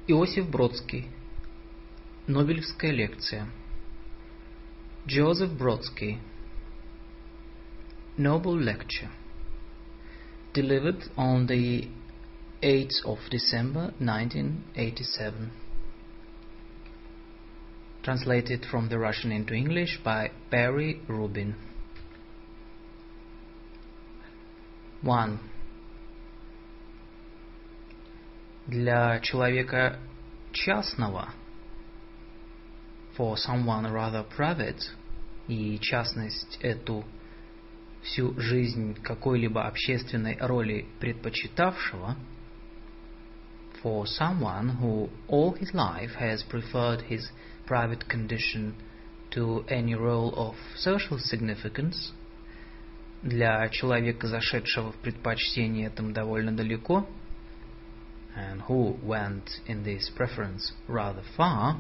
Иосиф Бродский. Нобелевская лекция. Joseph Brodsky. Nobel lecture. Delivered on the 8th of December 1987. Translated from the Russian into English by Barry Rubin. 1. Для человека частного, for someone rather private, и частность эту всю жизнь какой-либо общественной роли предпочитавшего, for someone who all his life has preferred his private condition to any role of social significance, для человека, зашедшего в предпочтение этому довольно далеко, and who went in this preference rather far,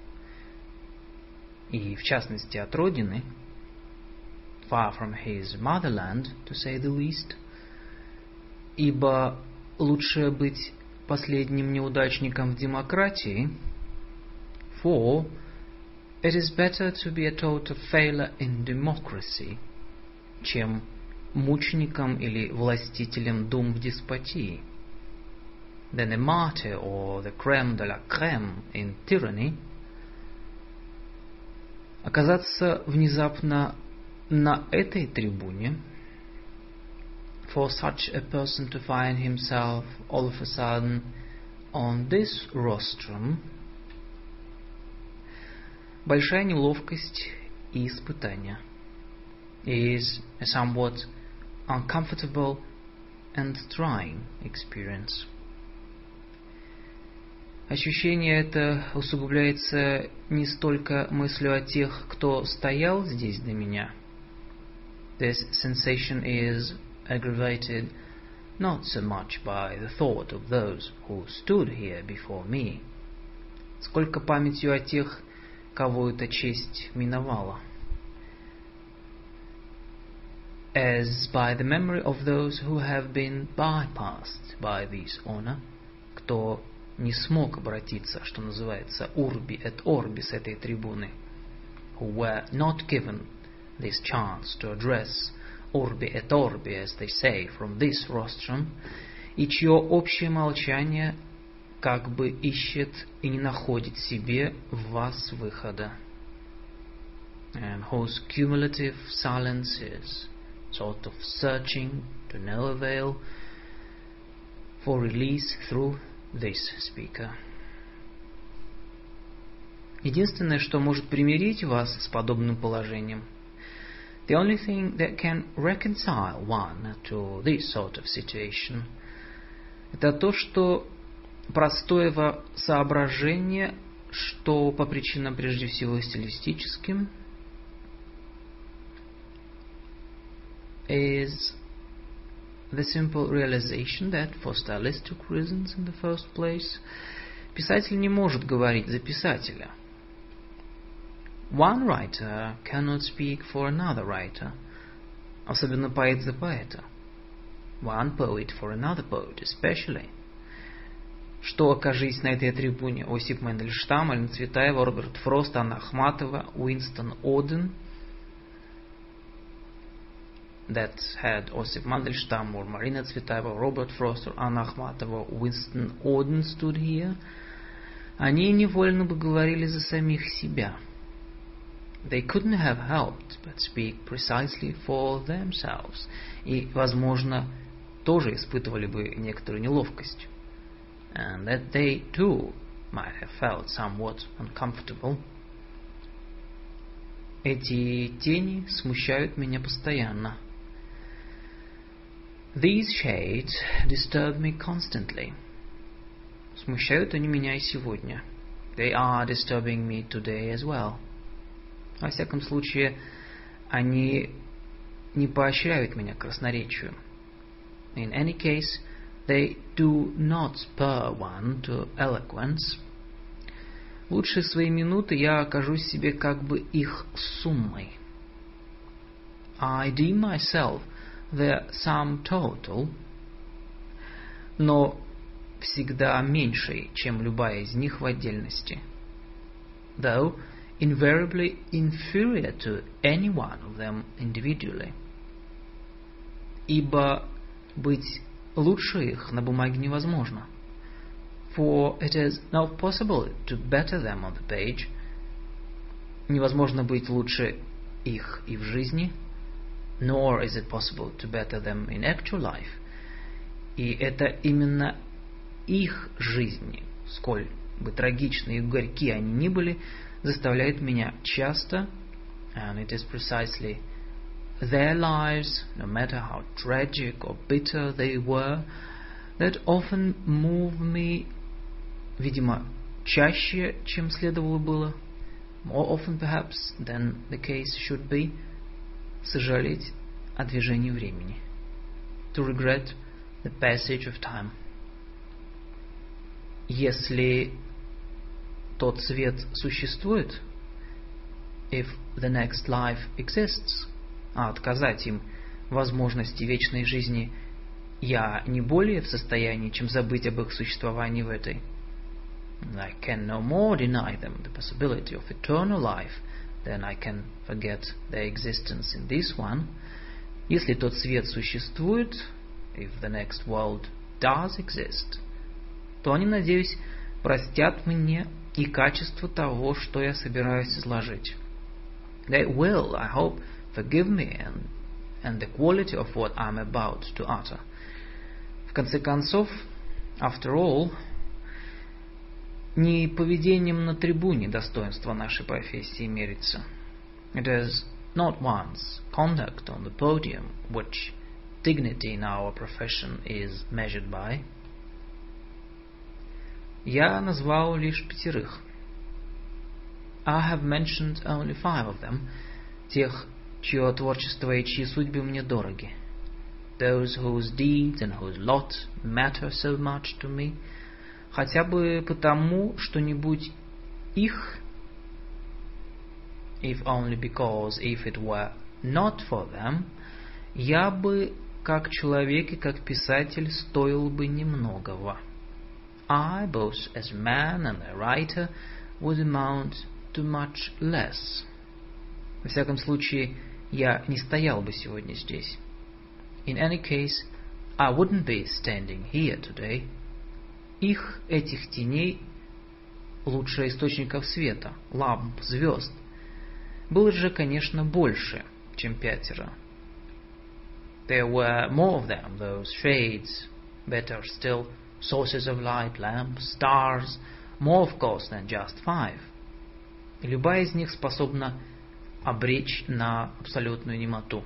и в частности от родины, far from his motherland, to say the least, ибо лучше быть последним неудачником в демократии, for it is better to be a total failure in democracy, чем мучеником или властителем дум в деспотии, than a martyr or the crème de la crème in tyranny. Оказаться внезапно на этой трибуне, for such a person to find himself all of a sudden on this rostrum, большая неловкость и испытание, is a somewhat uncomfortable and trying experience. Ощущение это усугубляется не столько мыслью о тех, кто стоял здесь до меня. This sensation is aggravated not so much by the thought of those who stood here before me, сколько памятью о тех, кого эта честь миновала, as by the memory of those who have been bypassed by this honor, кто не смог обратиться, что называется, urbi et orbi с этой трибуны, who were not given this chance to address urbi et orbi, as they say, from this rostrum, и чье общее молчание как бы ищет и не находит себе в вас выхода, and whose cumulative silence is sort of searching to no avail for release through this speaker. Единственное, что может примирить вас с подобным положением, the only thing that can reconcile one to this sort of situation, это то, что простое соображение, что по причинам прежде всего стилистическим, is the simple realization that, for stylistic reasons in the first place, писатель не может говорить за писателя. One writer cannot speak for another writer, особенно поэт за поэта. One poet for another poet, especially. Что, окажись на этой трибуне Осип Мандельштам, Алена Цветаева, Роберт Фрост, Анна Ахматова, Уинстон Оден, that had Osip Mandelstam or Marina Tsvetaeva, Robert Frost or Anna Akhmatova, Winston Oden stood here, они невольно бы говорили за самих себя. They couldn't have helped but speak precisely for themselves. И, возможно, тоже испытывали бы некоторую неловкость. And that they too might have felt somewhat uncomfortable. Эти тени смущают меня постоянно. These shades disturb me constantly. Смущают они меня и сегодня. They are disturbing me today as well. Во всяком случае, они не поощряют меня к красноречию. In any case, they do not spur one to eloquence. В лучшие свои минуты я окажусь себе как бы их суммой. I deem myself their sum total, но всегда меньшей, чем любая из них в отдельности. Though invariably inferior to any one of them individually. Ибо быть лучше их на бумаге невозможно. For it is not possible to better them on the page. Невозможно быть лучше их и в жизни. Nor is it possible to better them in actual life. И это именно их жизни, сколь бы трагичны и горьки они ни были, заставляет меня часто, and it is precisely their lives, no matter how tragic or bitter they were, that often move me, видимо, чаще, чем следовало было, more often perhaps than the case should be, сожалеть о движении времени, to regret the passage of time. Если тот свет существует, if the next life exists, а отказать им возможности вечной жизни я не более в состоянии, чем забыть об их существовании в этой. I can no more deny them the possibility of eternal life than I can forget their existence in this one. Если тот свет существует, if the next world does exist, то они, надеюсь, простят мне и качество того, что я собираюсь изложить. They will, I hope, forgive me and the quality of what I'm about to utter. В конце концов, after all, не поведением на трибуне достоинство нашей профессии мерится. It is not one's conduct on the podium which dignity in our profession is measured by. Я назвал лишь 5. I have mentioned only 5 of them, тех, чье творчество и чьи судьбы мне дороги. Those whose deeds and whose lot matter so much to me, хотя бы потому, что не будь их, if only because if it were not for them, я бы, как человек и как писатель, стоил бы немногого. I, both as man and a writer, would amount to much less. Во всяком случае, я не стоял бы сегодня здесь. In any case, I wouldn't be standing here today. Их, этих теней, лучше источников света, ламп, звезд, было же, конечно, больше, чем 5. There were more of them, those shades, better still, sources of light, lamps, stars, more of course than just 5. И любая из них способна обречь на абсолютную немоту.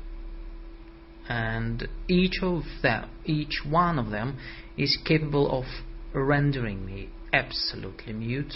And each one of them is capable of rendering me absolutely mute.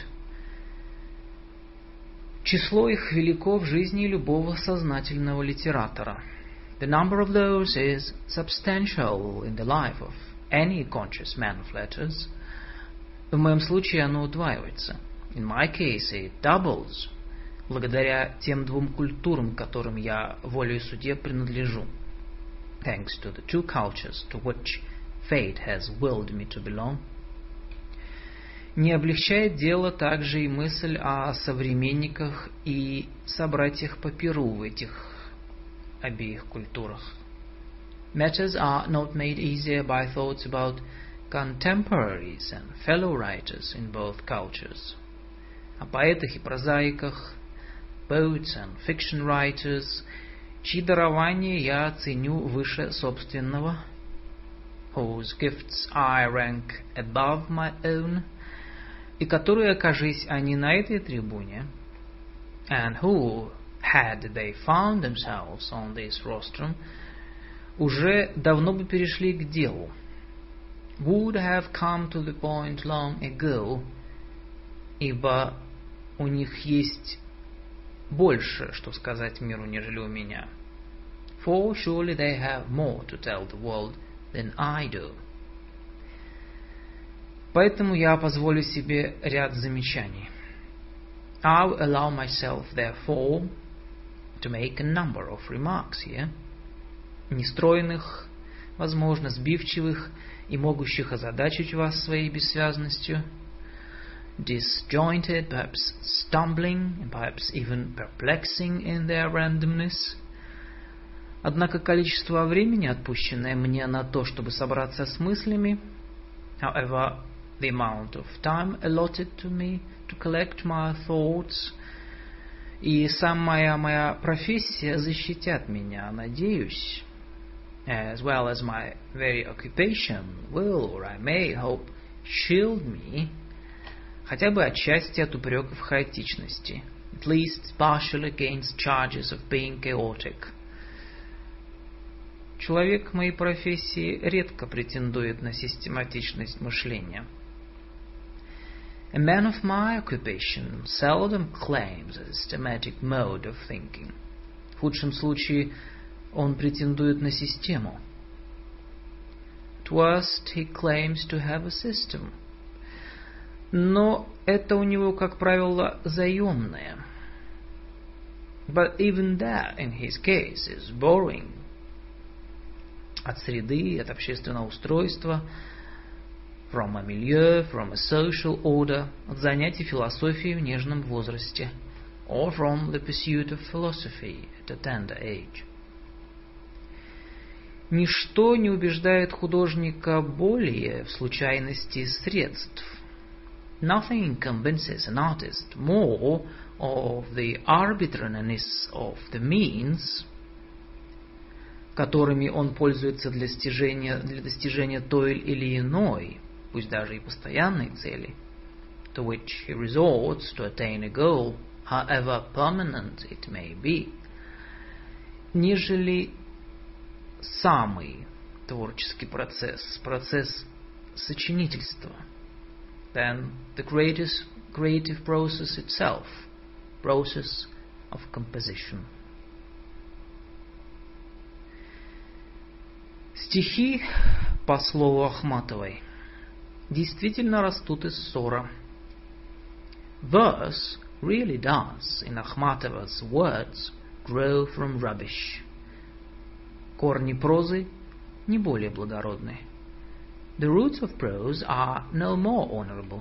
Число их велико в жизни любого сознательного литератора. The number of those is substantial in the life of any conscious man of letters. В моем случае оно удваивается. In my case it doubles, благодаря тем 2 культурам, которым я волею судеб принадлежу. Thanks to the 2 cultures to which fate has willed me to belong. Не облегчает дело также и мысль о современниках и собратьях по перу в этих обеих культурах. Matters are not made easier by thoughts about contemporaries and fellow writers in both cultures. О поэтах и прозаиках, poets and fiction writers, чьи дарования я ценю выше собственного, whose gifts I rank above my own, и которые, окажись они на этой трибуне, and who, had they found themselves on this rostrum, уже давно бы перешли к делу, would have come to the point long ago, ибо у них есть больше, что сказать миру, нежели у меня. For surely they have more to tell the world than I do. Поэтому я позволю себе ряд замечаний. I'll allow myself, therefore, to make a number of remarks here, нестройных, возможно, сбивчивых и могущих озадачить вас своей бессвязностью, disjointed, perhaps stumbling, and perhaps even perplexing in their randomness. Однако количество времени, отпущенное мне на то, чтобы собраться с мыслями, however, the amount of time allotted to me to collect my thoughts, и сама моя профессия защитят меня, надеюсь, as well as my very occupation will, or I may hope, shield me, хотя бы отчасти от упреков хаотичности, at least partially against charges of being chaotic. Человек моей профессии редко претендует на систематичность мышления. A man of my occupation seldom claims a systematic mode of thinking. В худшем случае он претендует на систему. At worst, he claims to have a system. Но это у него, как правило, заемное. But even that, in his case, is borrowing. От среды, от общественного устройства, from a milieu, from a social order, от занятий философией в нежном возрасте, or from the pursuit of philosophy at a tender age. Ничто не убеждает художника более в случайности средств. Nothing convinces an artist more of the arbitrariness of the means, которыми он пользуется для достижения той или иной, пусть даже и постоянной цели, to which he resorts to attain a goal, however permanent it may be, нежели самый творческий процесс, процесс сочинительства, than the greatest creative process itself, process of composition. Стихи, по слову Ахматовой, действительно растут из ссора. Verse really does, in Akhmatova's words, grow from rubbish. Корни прозы не более благородны. The roots of prose are no more honorable.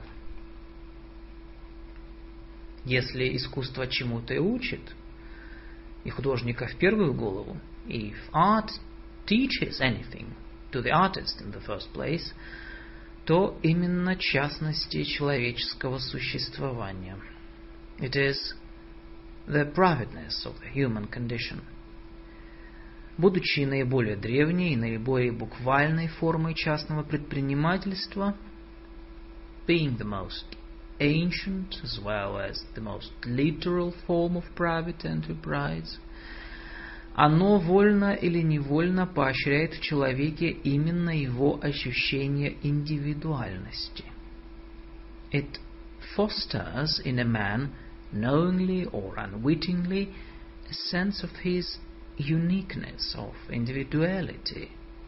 Если искусство чему-то и учит, и художника в первую голову, if art teaches anything to the artist in the first place, то именно частности человеческого существования. It is the privateness of the human condition. Будучи наиболее древней и наиболее буквальной формой частного предпринимательства, being the most ancient as well as the most literal form of private enterprise, оно вольно или невольно поощряет в человеке именно его ощущение индивидуальности. It fosters in a man, knowingly or unwittingly, a sense of his uniqueness, of individuality.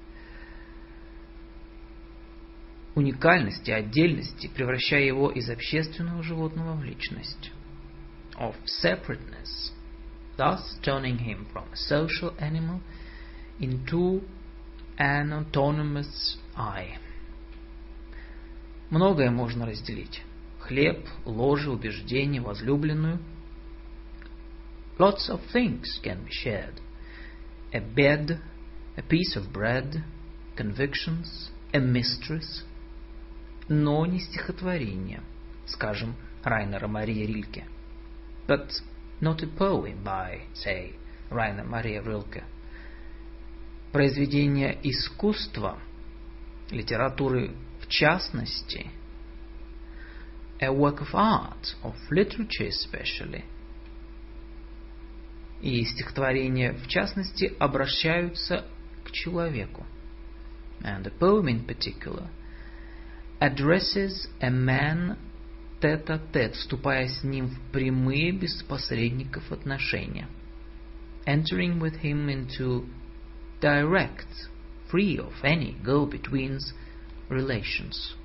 Уникальности, отдельности, превращая его из общественного животного в личность. Of separateness, thus turning him from a social animal into an autonomous I. Многое можно разделить. Хлеб, ложе, убеждение, возлюбленную. Lots of things can be shared. A bed, a piece of bread, convictions, a mistress. Но не стихотворение, скажем, Райнера Мария Рильке. But not a poem by, say, Rainer Maria Rilke. Произведение искусства, литературы в частности, a work of art, of literature especially, и стихотворения в частности обращаются к человеку. And a poem in particular addresses a man tête-à-tête, вступая с ним в прямые, без посредников отношения. Entering with him into direct, free of any go-betweens relations.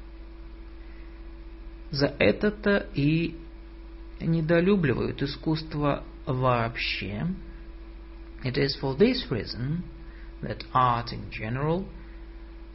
За это-то и недолюбливают искусство вообще. It is for this reason that art in general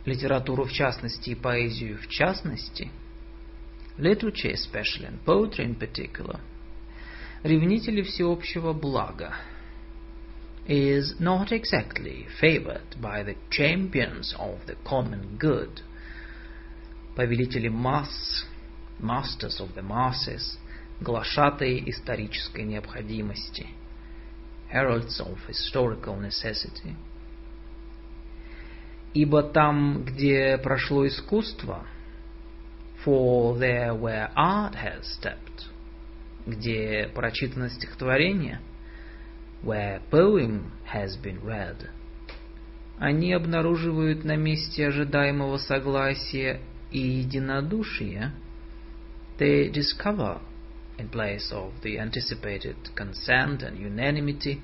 литературу в частности и поэзию в частности, literature especially and poetry in particular, ревнители всеобщего блага, is not exactly favored by the champions of the common good, повелители масс, masters of the masses, глашатаи исторической необходимости, heralds of historical necessity. Ибо там, где прошло искусство, for there where art has stepped, где прочитано стихотворение, where poem has been read, они обнаруживают на месте ожидаемого согласия и единодушия, they discover in place of the anticipated consent and unanimity,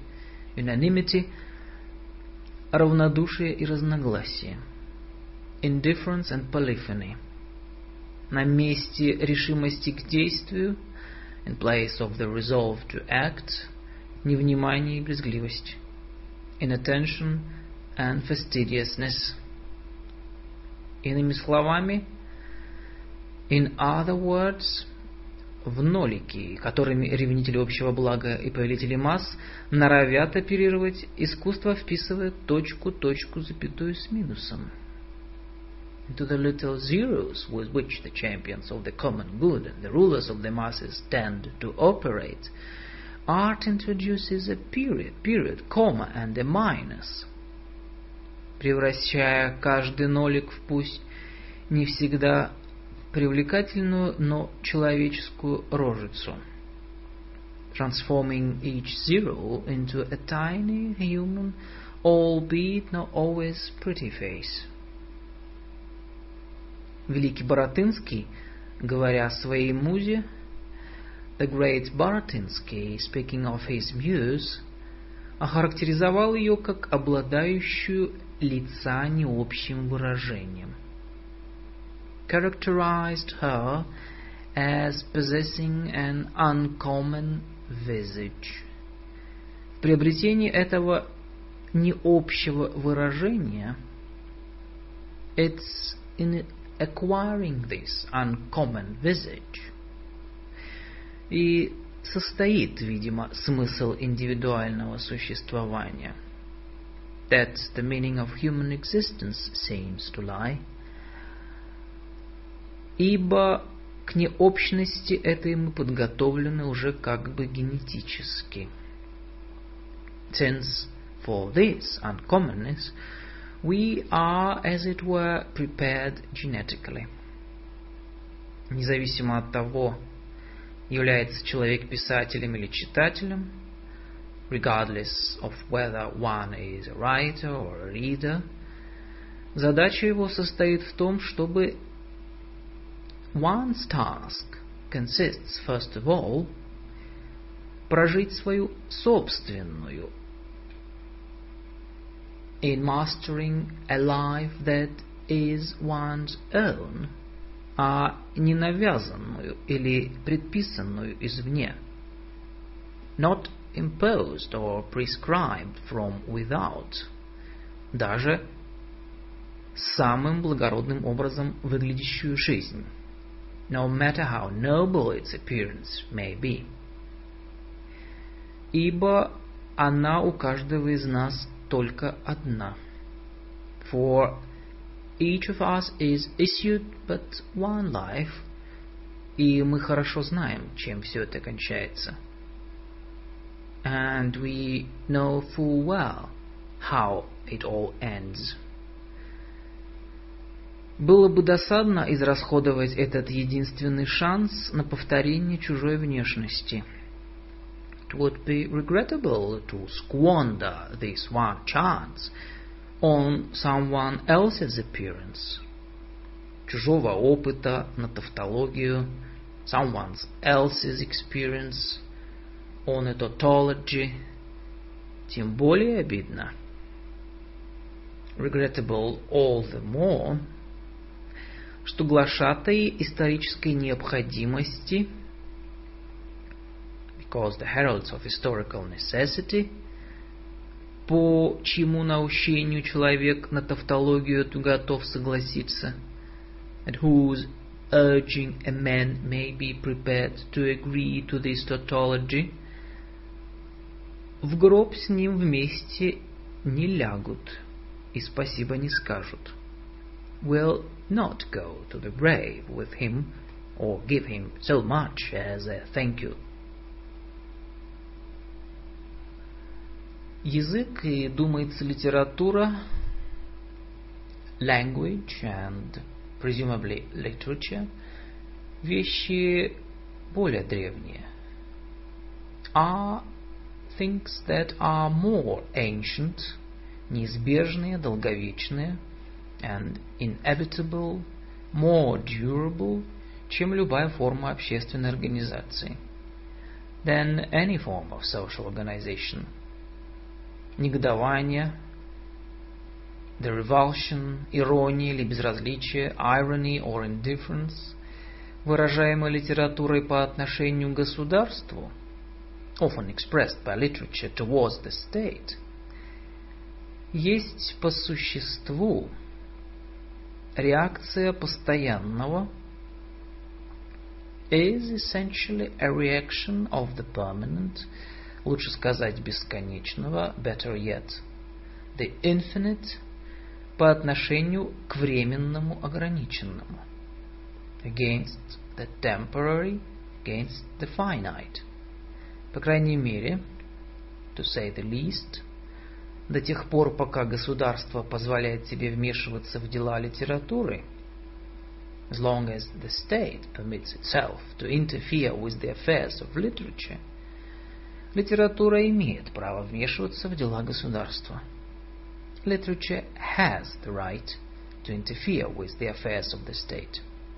равнодушие и разногласие, indifference and polyphony. На месте решимости к действию, in place of the resolve to act, невнимание и брезгливость, inattention and fastidiousness. Иными словами, in other words, в нолики, которыми ревнители общего блага и повелители масс норовят оперировать, искусство вписывает точку, запятую с минусом. Into the little zeros with which the champions of the common good and the rulers of the masses tend to operate, art introduces a period, comma and a minus, превращая каждый нолик в пусть не всегда привлекательную, но человеческую рожицу, transforming each zero into a tiny human, albeit not always pretty face. Великий Баратынский, говоря о своей музе, the great Baratynsky, speaking of his muse, охарактеризовал ее как обладающую лица необщим выражением, characterized her as possessing an uncommon visage. В приобретении этого необщего выражения, it's in acquiring this uncommon visage, и состоит, видимо, смысл индивидуального существования. That's the meaning of human existence seems to lie. Ибо к необщности этой мы подготовлены уже как бы генетически. Since for this uncommonness we are, as it were, prepared genetically. Независимо от того, является человек писателем или читателем, regardless of whether one is a writer or a reader, задача его состоит в том, чтобы one's task consists, first of all, прожить свою собственную, in mastering a life that is one's own, а не навязанную или предписанную извне, not imposed or prescribed from without, даже самым благородным образом выглядящую жизнь, no matter how noble its appearance may be. Ибо она у каждого из нас только одна. For each of us is issued but one life, и мы хорошо знаем, чем все это кончается. And we know full well how it all ends. Было бы досадно израсходовать этот единственный шанс на повторение чужой внешности. It would be regrettable to squander this one chance on someone else's appearance, чужого опыта на тавтологию, someone else's experience on a tautology. Тем более обидно, regrettable all the more, что глашатаи исторической необходимости, because the heralds of historical necessity, по чьему наущению человек на тавтологию эту готов согласиться, at whose urging a man may be prepared to agree to this tautology, в гроб с ним вместе не лягут и спасибо не скажут, will not go to the grave with him or give him so much as a thank you. Язык и, думается, литература, language and presumably literature, вещи более древние, are things that are more ancient, неизбежные, долговечные, and inevitable, more durable, чем любая форма общественной организации, than any form of social organization. Негодование, the revulsion, ирония или безразличие, irony or indifference, выражаемое литературой по отношению к государству, often expressed by literature towards the state, есть по существу реакция постоянного, is essentially a reaction of the permanent, лучше сказать бесконечного, better yet, the infinite, по отношению к временному ограниченному, against the temporary, against the finite. По крайней мере, to say the least, до тех пор, пока государство позволяет себе вмешиваться в дела литературы, as long as the state permits itself to interfere with the affairs of literature, литература имеет право вмешиваться в дела государства. Literature has the right to interfere with the affairs of the state.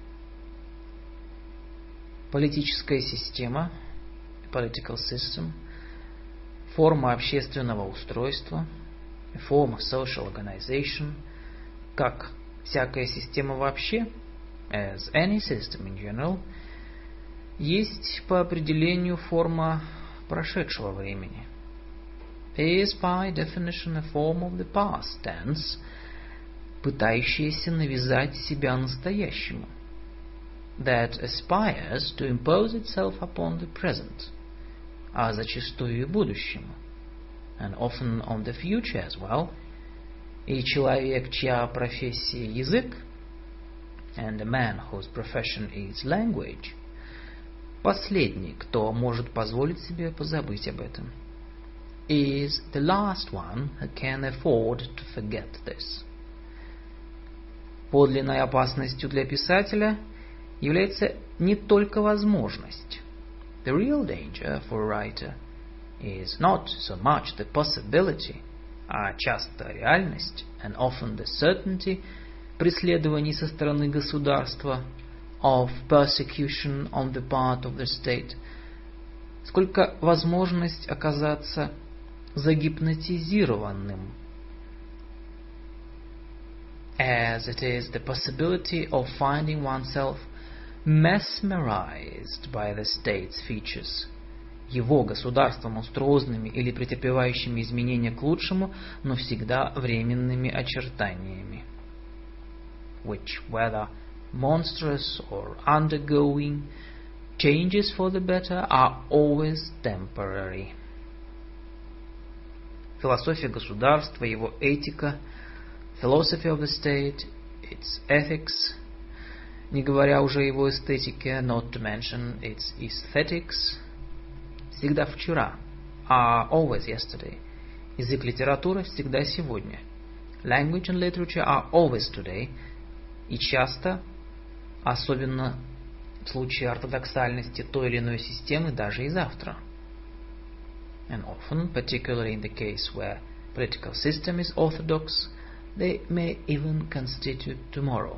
Политическая система, political system, форма общественного устройства, a form of social organization, как всякая система вообще, as any system in general, есть по определению форма прошедшего времени, is by definition a form of the past tense, пытающаяся навязать себя настоящему, that aspires to impose itself upon the present, а зачастую и будущему, and often on the future as well, и человек, чья профессия язык, and a man whose profession is language, последний, кто может позволить себе позабыть об этом, is the last one who can afford to forget this. Подлинной опасностью для писателя является не только возможность. The real danger for a writer is not so much the possibility, а часто реальность, and often the certainty, преследований со стороны государства, of persecution on the part of the state, сколько возможность оказаться загипнотизированным, as it is the possibility of finding oneself mesmerized by the state's features, его государством монструозными или претерпевающими изменения к лучшему, но всегда временными очертаниями, which, whether monstrous or undergoing changes for the better, are always temporary. Философия государства, его этика, philosophy of the state, its ethics, не говоря уже о его эстетике, not to mention its aesthetics, всегда вчера, are always yesterday. Язык литературы всегда сегодня. Language and literature are always today. И часто, особенно в случае ортодоксальности той или иной системы, даже и завтра. And often, particularly in the case where political system is orthodox, they may even constitute tomorrow.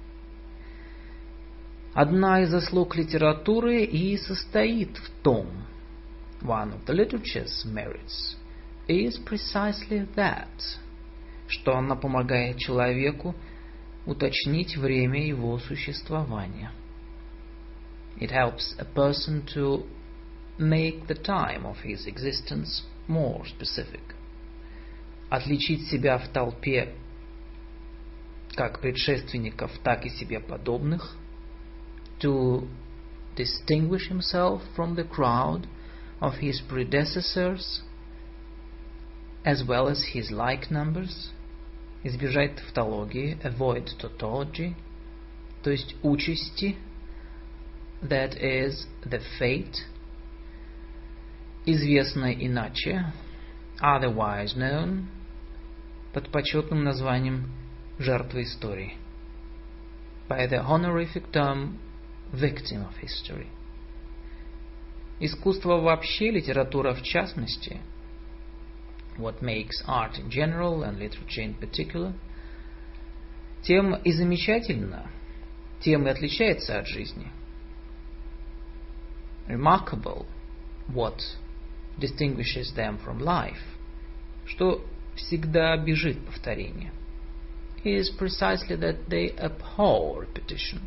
Одна из заслуг литературы и состоит в том, one of the literature's merits is precisely that, что она помогает человеку уточнить время его существования. It helps a person to make the time of his existence more specific. отличить себя в толпе как предшественников, так и себе подобных, to distinguish himself from the crowd of his predecessors as well as his like numbers, избежать тавтологии, avoid tautology, то есть участи, that is the fate, известно иначе, otherwise known, под почетным названием жертва истории, by the honorific term victim of history. Искусство вообще, литература в частности, what makes art in general and literature in particular, тем и замечательно, тем и отличается от жизни. Remarkable, what distinguishes them from life, что всегда бежит повторение, is precisely that they abhor repetition.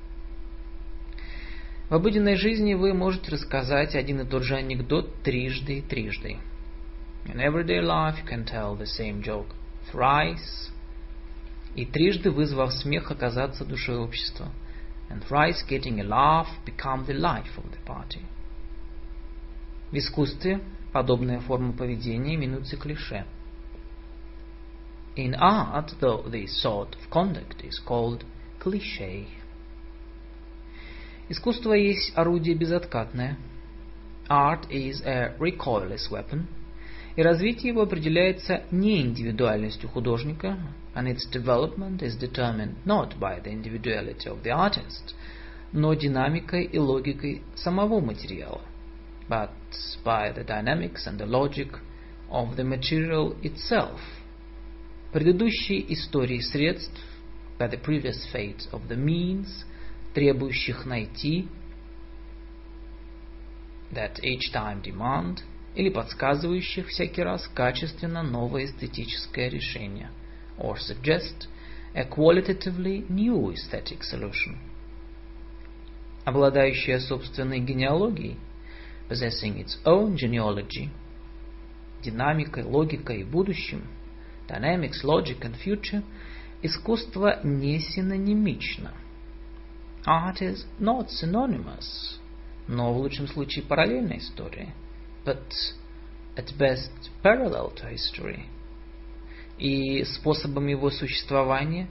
В обыденной жизни вы можете рассказать один и тот же анекдот трижды и трижды. In everyday life you can tell the same joke thrice, и трижды, вызвав смех, оказаться душой общества, and thrice getting a laugh become the life of the party. В искусстве подобная форма поведения именуется клише. In art, though, this sort of conduct is called cliché. Искусство есть орудие безоткатное. Art is a recoilless weapon. И развитие его определяется не индивидуальностью художника, and its development is determined not by the individuality of the artist, но динамикой и логикой самого материала, but by the dynamics and the logic of the material itself. Предыдущие истории средств, by the previous fate of the means, требующих найти, that each time demand, или подсказывающих всякий раз качественно новое эстетическое решение, or suggest a qualitatively new aesthetic solution. Обладающая собственной генеалогией, possessing its own genealogy, динамикой, логикой и будущим, dynamics, logic and future, искусство не синонимично. Art is not synonymous, но в лучшем случае параллельная история, but at best parallel to history. И способом его существования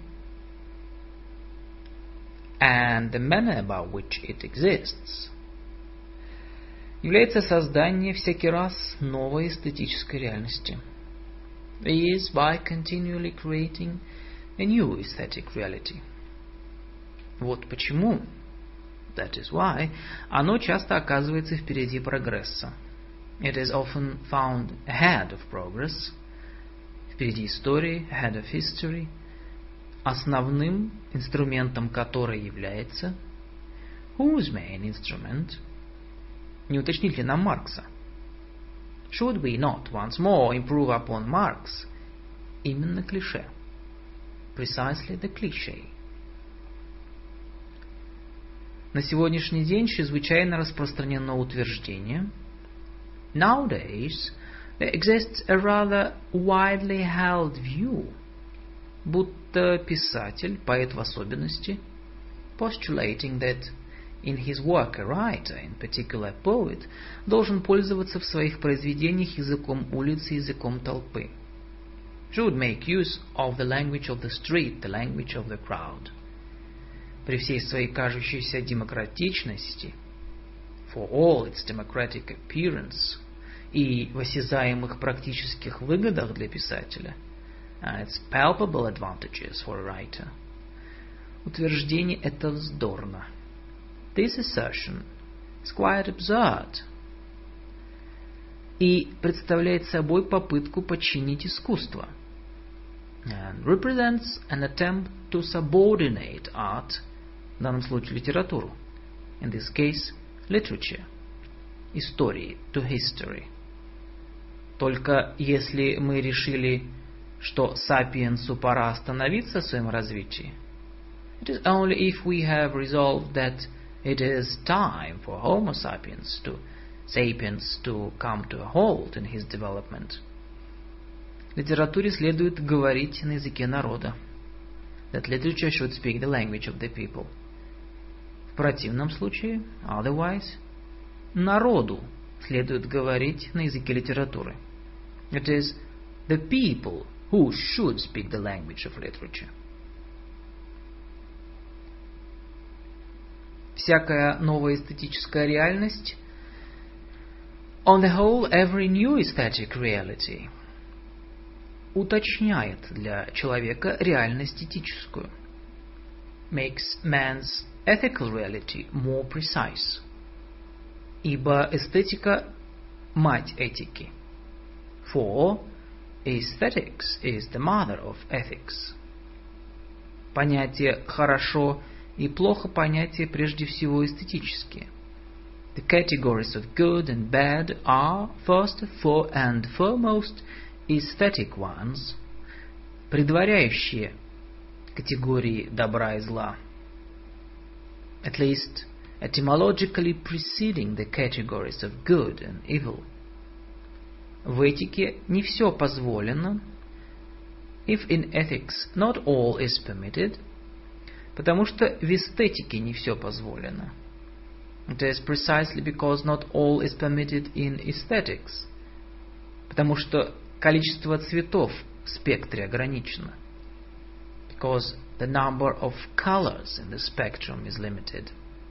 and the manner about which it exists является создание всякий раз новой эстетической реальности, is by continually creating a new aesthetic reality. Вот почему, that is why, оно часто оказывается впереди прогресса. It is often found ahead of progress, впереди истории, ahead of history, основным инструментом которой является, whose main instrument, не уточнить ли нам Маркса? Should we not once more improve upon Marx? Именно клише. Precisely the cliché. На сегодняшний день чрезвычайно распространено утверждение. Nowadays, there exists a rather widely held view, будто писатель, поэт в особенности, postulating that in his work a writer, in particular a poet, должен пользоваться в своих произведениях языком улицы, языком толпы. Should make use of the language of the street, the language of the crowd. При всей своей кажущейся демократичности, for all its democratic appearance, и в осязаемых практических выгодах для писателя, its palpable advantages for a writer, утверждение это вздорно. This assertion is quite absurd и представляет собой попытку подчинить искусство, and represents an attempt to subordinate art, в данном случае литературу, in this case literature, истории, to history. Только если мы решили, что сапиенсу пора остановиться в своем развитии, it is only if we have resolved that it is time for Homo sapiens to come to a halt in his development. Литературе следует говорить на языке народа. That literature should speak the language of the people. В противном случае, otherwise, народу следует говорить на языке литературы. It is the people who should speak the language of literature. Всякая новая эстетическая реальность, on the whole, every new aesthetic reality, уточняет для человека реальность этическую, makes man's ethical reality more precise, ибо эстетика – мать этики. For aesthetics is the mother of ethics. Понятие «хорошо» и «плохо» понятия прежде всего эстетические. The categories of good and bad are, first and foremost, aesthetic ones, предваряющие категории добра и зла. At least etymologically preceding the categories of good and evil. В этике не все позволено, if in ethics not all is permitted, потому что в эстетике не все позволено. It is precisely because not all is permitted in aesthetics, потому что количество цветов в спектре ограничено. Because the number of colors in the spectrum is limited.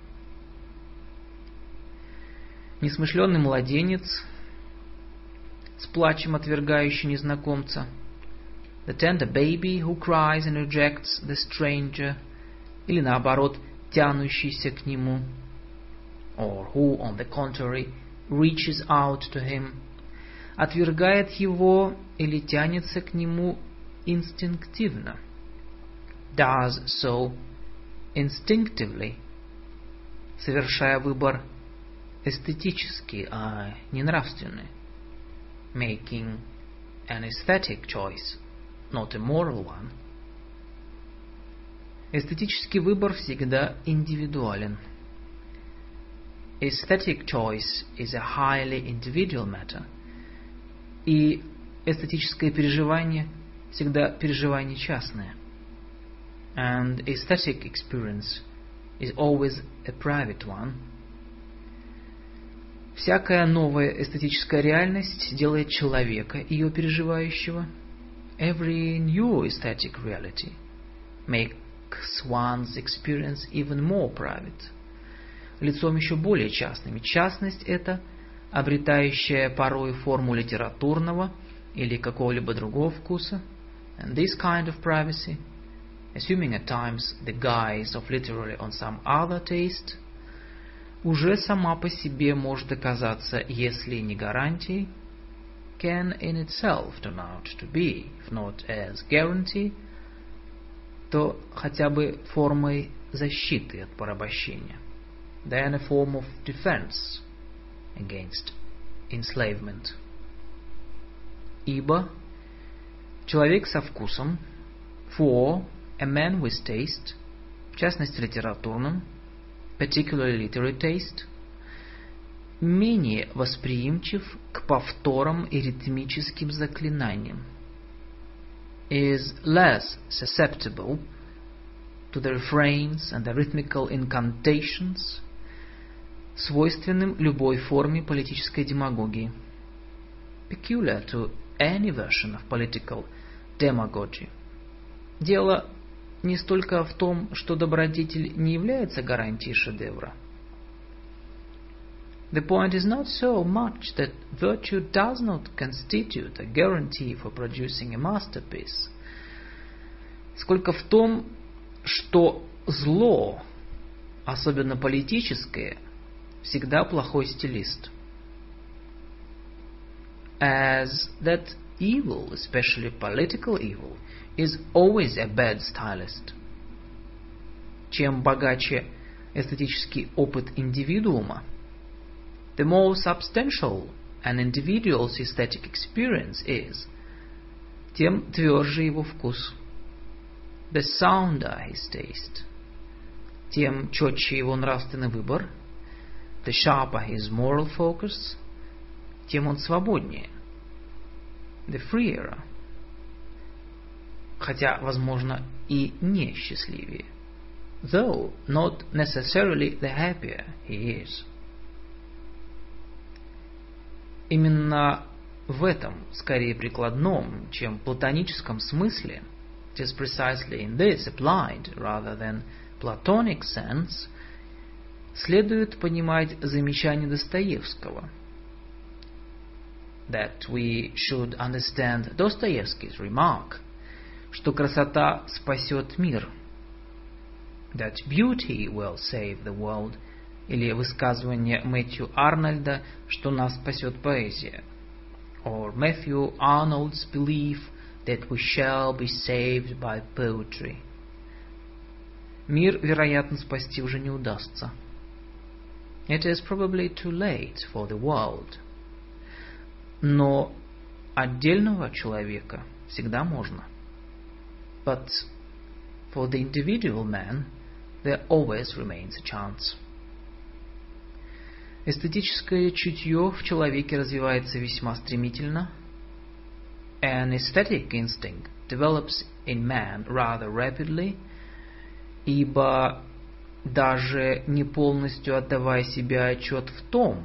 Несмышленный младенец, с плачем отвергающий незнакомца, the tender baby who cries and rejects the stranger, или наоборот, тянущийся к нему, or who, on the contrary, reaches out to him, отвергает его или тянется к нему инстинктивно, does so instinctively, совершая выбор эстетический, а не нравственный, making an aesthetic choice, not a moral one. Эстетический выбор всегда индивидуален. Aesthetic choice is a highly individual matter. И эстетическое переживание всегда переживание частное. And aesthetic experience is always a private one. Всякая новая эстетическая реальность делает человека, ее переживающего. Every new aesthetic reality makes one's experience even more private. Лицом еще более частным. Частность это, обретающая порой форму литературного или какого-либо другого вкуса. And this kind of privacy, assuming at times the guise of literary on some other taste, уже сама по себе может оказаться, если не гарантией, can in itself turn out to be, if not as guarantee, то хотя бы формой защиты от порабощения, then a form of defense against enslavement. Ибо человек со вкусом, for a man with taste, в частности литературным, particularly literary taste, менее восприимчив к повторам и ритмическим заклинаниям, is less susceptible to the refrains and the rhythmical incantations, свойственным любой форме политической демагогии, peculiar to any version of political demagogy. Дело не столько в том, что добродетель не является гарантией шедевра. The point is not so much that virtue does not constitute a guarantee for producing a masterpiece, сколько в том, что зло, особенно политическое, всегда плохой стилист. As that evil, especially political evil, is always a bad stylist. Чем богаче эстетический опыт индивидуума, the more substantial an individual's aesthetic experience is, тем тверже его вкус. The sounder his taste, тем четче его нравственный выбор. The sharper his moral focus, тем он свободнее. The freer хотя, возможно, и не счастливее. Though not necessarily the happier he is. Именно в этом, скорее прикладном, чем платоническом смысле, it is precisely in this applied rather than Platonic sense, следует понимать замечание Достоевского, that we should understand Dostoevsky's remark, что красота спасет мир, that beauty will save the world, или высказывание Мэтью Арнольда, что нас спасет поэзия, or Matthew Arnold's belief that we shall be saved by poetry. Мир, вероятно, спасти уже не удастся. It is probably too late for the world. Но отдельного человека всегда можно. But for the individual man, there always remains a chance. Эстетическое чутье в человеке развивается весьма стремительно. An aesthetic instinct develops in man rather rapidly, ибо даже не полностью отдавая себе отчет в том,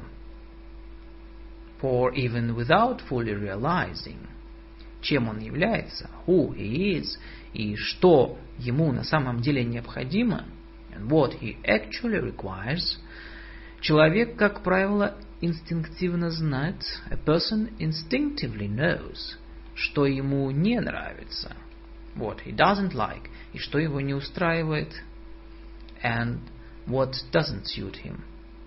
for even without fully realizing, чем он является, who he is, и что ему на самом деле необходимо, and what he actually requires, человек, как правило, инстинктивно знает, a person instinctively knows, что ему не нравится, what he doesn't like, и что его не устраивает, and what doesn't suit him.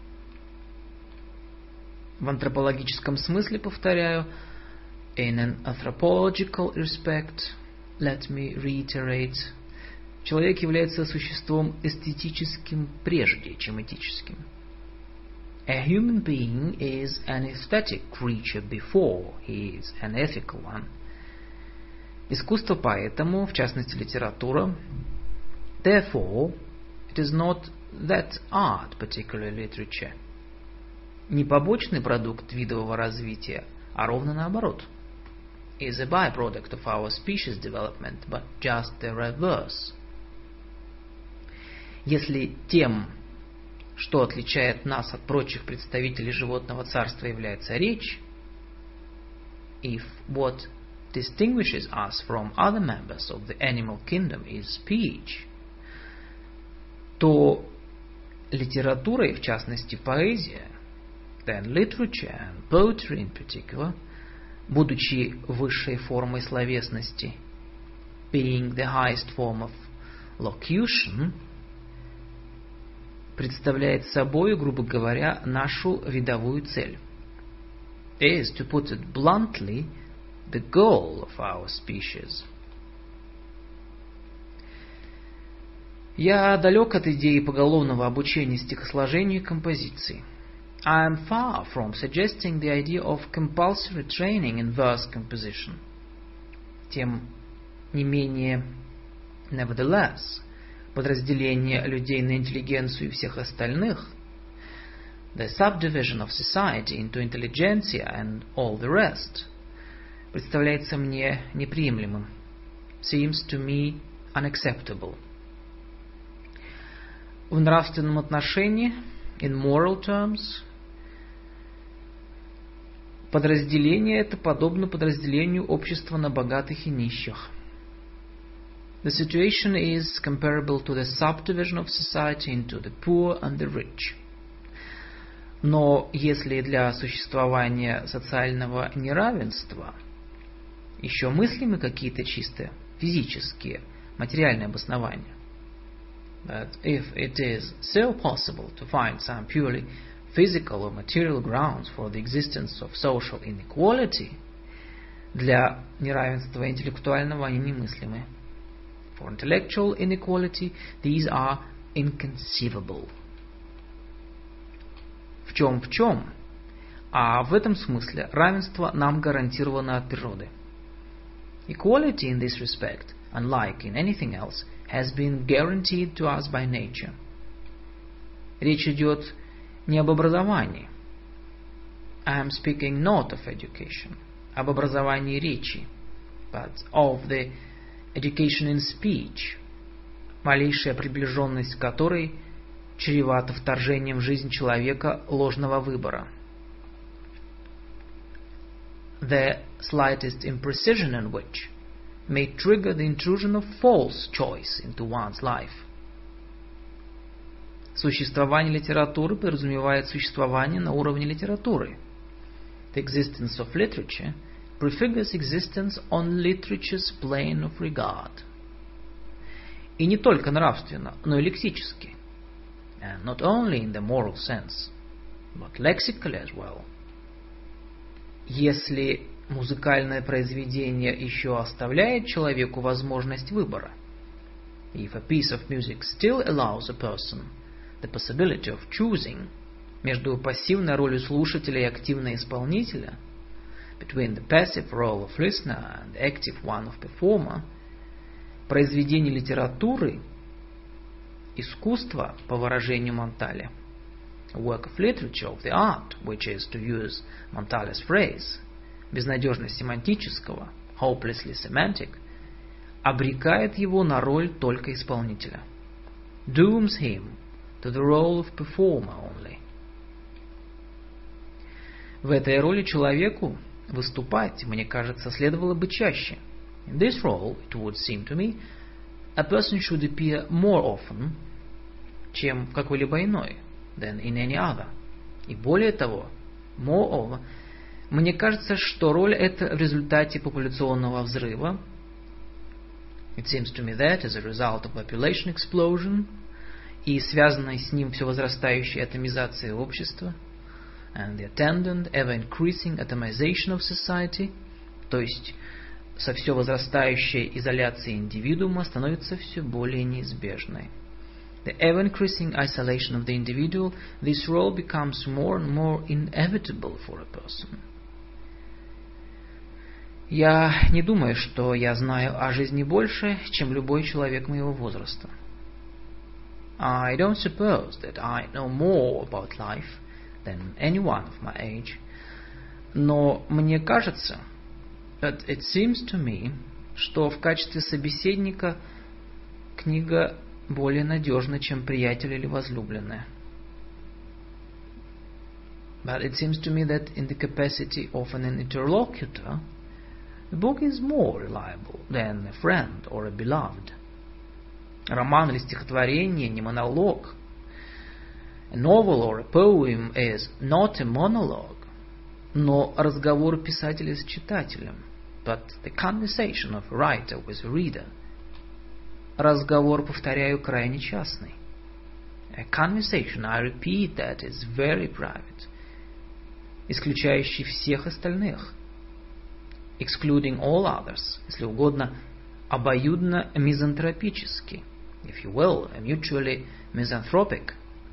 В антропологическом смысле, повторяю, in an anthropological respect, let me reiterate, человек является существом эстетическим прежде, чем этическим. A human being is an aesthetic creature before he is an ethical one. Искусство поэтому, в частности литература, therefore, it is not that art, particularly literature, не побочный продукт видового развития, а ровно наоборот, is a byproduct of our species development, but just the reverse. Если тем, что отличает нас от прочих представителей животного царства, является речь, if what distinguishes us from other members of the animal kingdom is speech, то литература, и в частности поэзия, then literature and poetry in particular, будучи высшей формой словесности, being the highest form of locution, представляет собой, грубо говоря, нашу видовую цель. Is, to put it bluntly, the goal of our species. Я далек от идеи поголовного обучения стихосложению и композиции. I am far from suggesting the idea of compulsory training in verse composition. Тем не менее, nevertheless, подразделение людей на интеллигенцию и всех остальных, the subdivision of society into intelligentsia and all the rest, представляется мне неприемлемым, seems to me unacceptable. В нравственном отношении, in moral terms, подразделение это подобно подразделению общества на богатых и нищих. The situation is comparable to the subdivision of society into the poor and the rich. Но если для существования социального неравенства еще мыслимы какие-то чисто физические, материальные обоснования, but if it is still possible to find some purely physical or material grounds for the existence of social inequality, для неравенства интеллектуального они немыслимы. For intellectual inequality, these are inconceivable. В чем? А в этом смысле равенство нам гарантировано от природы. Equality in this respect, unlike in anything else, has been guaranteed to us by nature. Речь идет не об образовании. I am speaking not of education, об образовании речи, but of the education in speech, малейшая приближенность которой чревата вторжением в жизнь человека ложного выбора. The slightest imprecision in which may trigger the intrusion of false choice into one's life. Существование литературы подразумевает существование на уровне литературы. The existence of literature prefigures existence on literature's plane of regard. И не только нравственно, но и лексически. And not only in the moral sense, but lexically as well. Если музыкальное произведение еще оставляет человеку возможность выбора, if a piece of music still allows a person the possibility of choosing между пассивной ролью слушателя и активной исполнителя, between the passive role of listener and the active one of performer, произведение литературы, искусство, по выражению Монтале, a work of literature, of the art, which is, to use Montale's phrase, безнадежно семантического, hopelessly semantic, обрекает его на роль только исполнителя, dooms him to the role of performer only. В этой роли человеку выступать, мне кажется, следовало бы чаще. In this role, it would seem to me, a person should appear more often, чем в какой-либо иной, than in any other. И более того, moreover, мне кажется, что роль эта в результате популяционного взрыва, it seems to me that as a result of population explosion, и связанной с ним все возрастающей атомизацией общества, and the attendant ever-increasing atomization of society, то есть со все возрастающей изоляцией индивидуума, становится все более неизбежной. The ever-increasing isolation of the individual, this role becomes more and more inevitable for a person. Я не думаю, что я знаю о жизни больше, чем любой человек моего возраста. I don't suppose that I know more about life than anyone of my age. Но мне кажется, but it seems to me, что в качестве собеседника книга более надежна, чем приятель или возлюбленная. But it seems to me that in the capacity of an interlocutor, the book is more reliable than a friend or a beloved. Роман или стихотворение не монолог. A novel or a poem is not a monologue, но разговор писателя с читателем, but the conversation of a writer with a reader. Разговор, повторяю, крайне частный. A conversation, I repeat, that is very private, исключающий всех остальных, excluding all others, если угодно, обоюдно мизантропический, if you will, mutually misanthropic.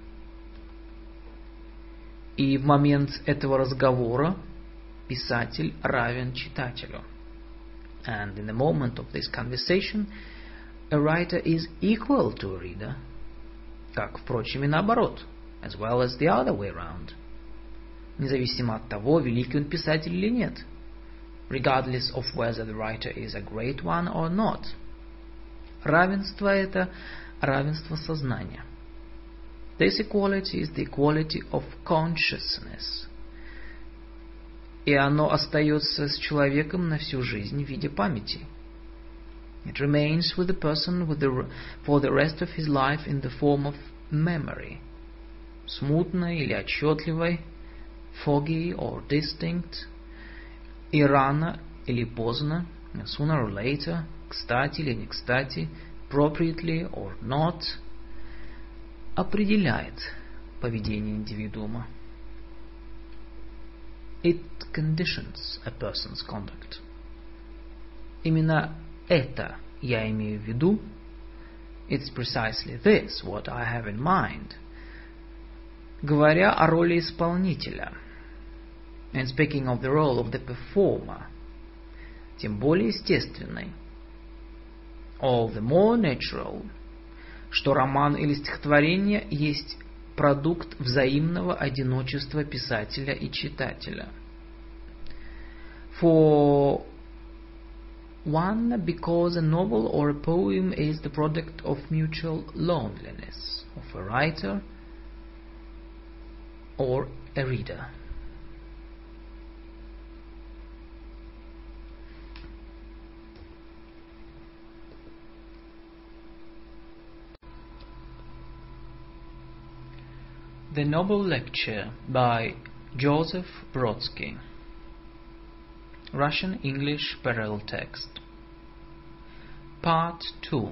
И в момент этого разговора писатель равен читателю. And in the moment of this conversation, a writer is equal to a reader, как, впрочем, и наоборот, as well as the other way around, независимо от того, великий он писатель или нет, regardless of whether the writer is a great one or not. Равенство это равенство сознания. This equality is the equality of consciousness. И оно остается с человеком на всю жизнь в виде памяти. It remains with the person for the rest of his life in the form of memory. Смутной или отчетливой, foggy or distinct, и рано или поздно, sooner or later, кстати или не кстати, appropriately or not, определяет поведение индивидуума. It conditions a person's conduct. Именно это я имею в виду. It's precisely this what I have in mind, говоря о роли исполнителя. And speaking of the role of the performer, тем более естественной, all the more natural, что роман или стихотворение есть продукт взаимного одиночества писателя и читателя. For One, because a novel or a poem is the product of mutual loneliness of a writer or a reader. The Noble Lecture by Joseph Brodsky. Russian-English parallel text. Part 2.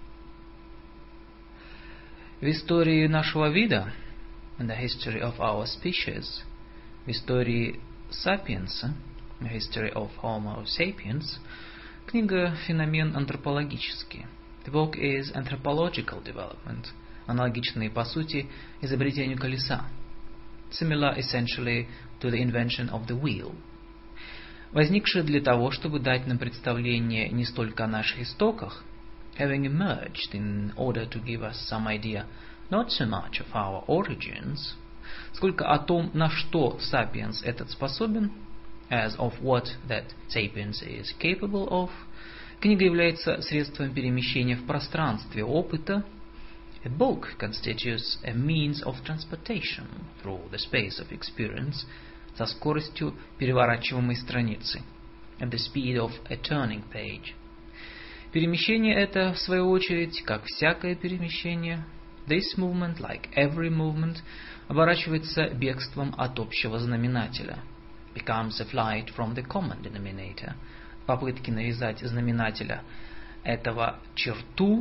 В истории нашего вида, in the history of our species, в истории сапиенса, the history of Homo sapiens, книга «Феномен антропологический». The book is Anthropological Development, аналогичный по сути изобретению колеса, similar essentially to the invention of the wheel, возникшая для того, чтобы дать нам представление не столько о наших истоках, having emerged in order to give us some idea not so much of our origins, сколько о том, на что сапиенс этот способен, as of what that sapiens is capable of. Книга является средством перемещения в пространстве опыта. A book constitutes a means of transportation through the space of experience со скоростью переворачиваемой страницы, at the speed of a turning page. Перемещение это, в свою очередь, как всякое перемещение, this movement, like every movement, оборачивается бегством от общего знаменателя, becomes a flight from the common denominator, попытки навязать знаменателя этого черту,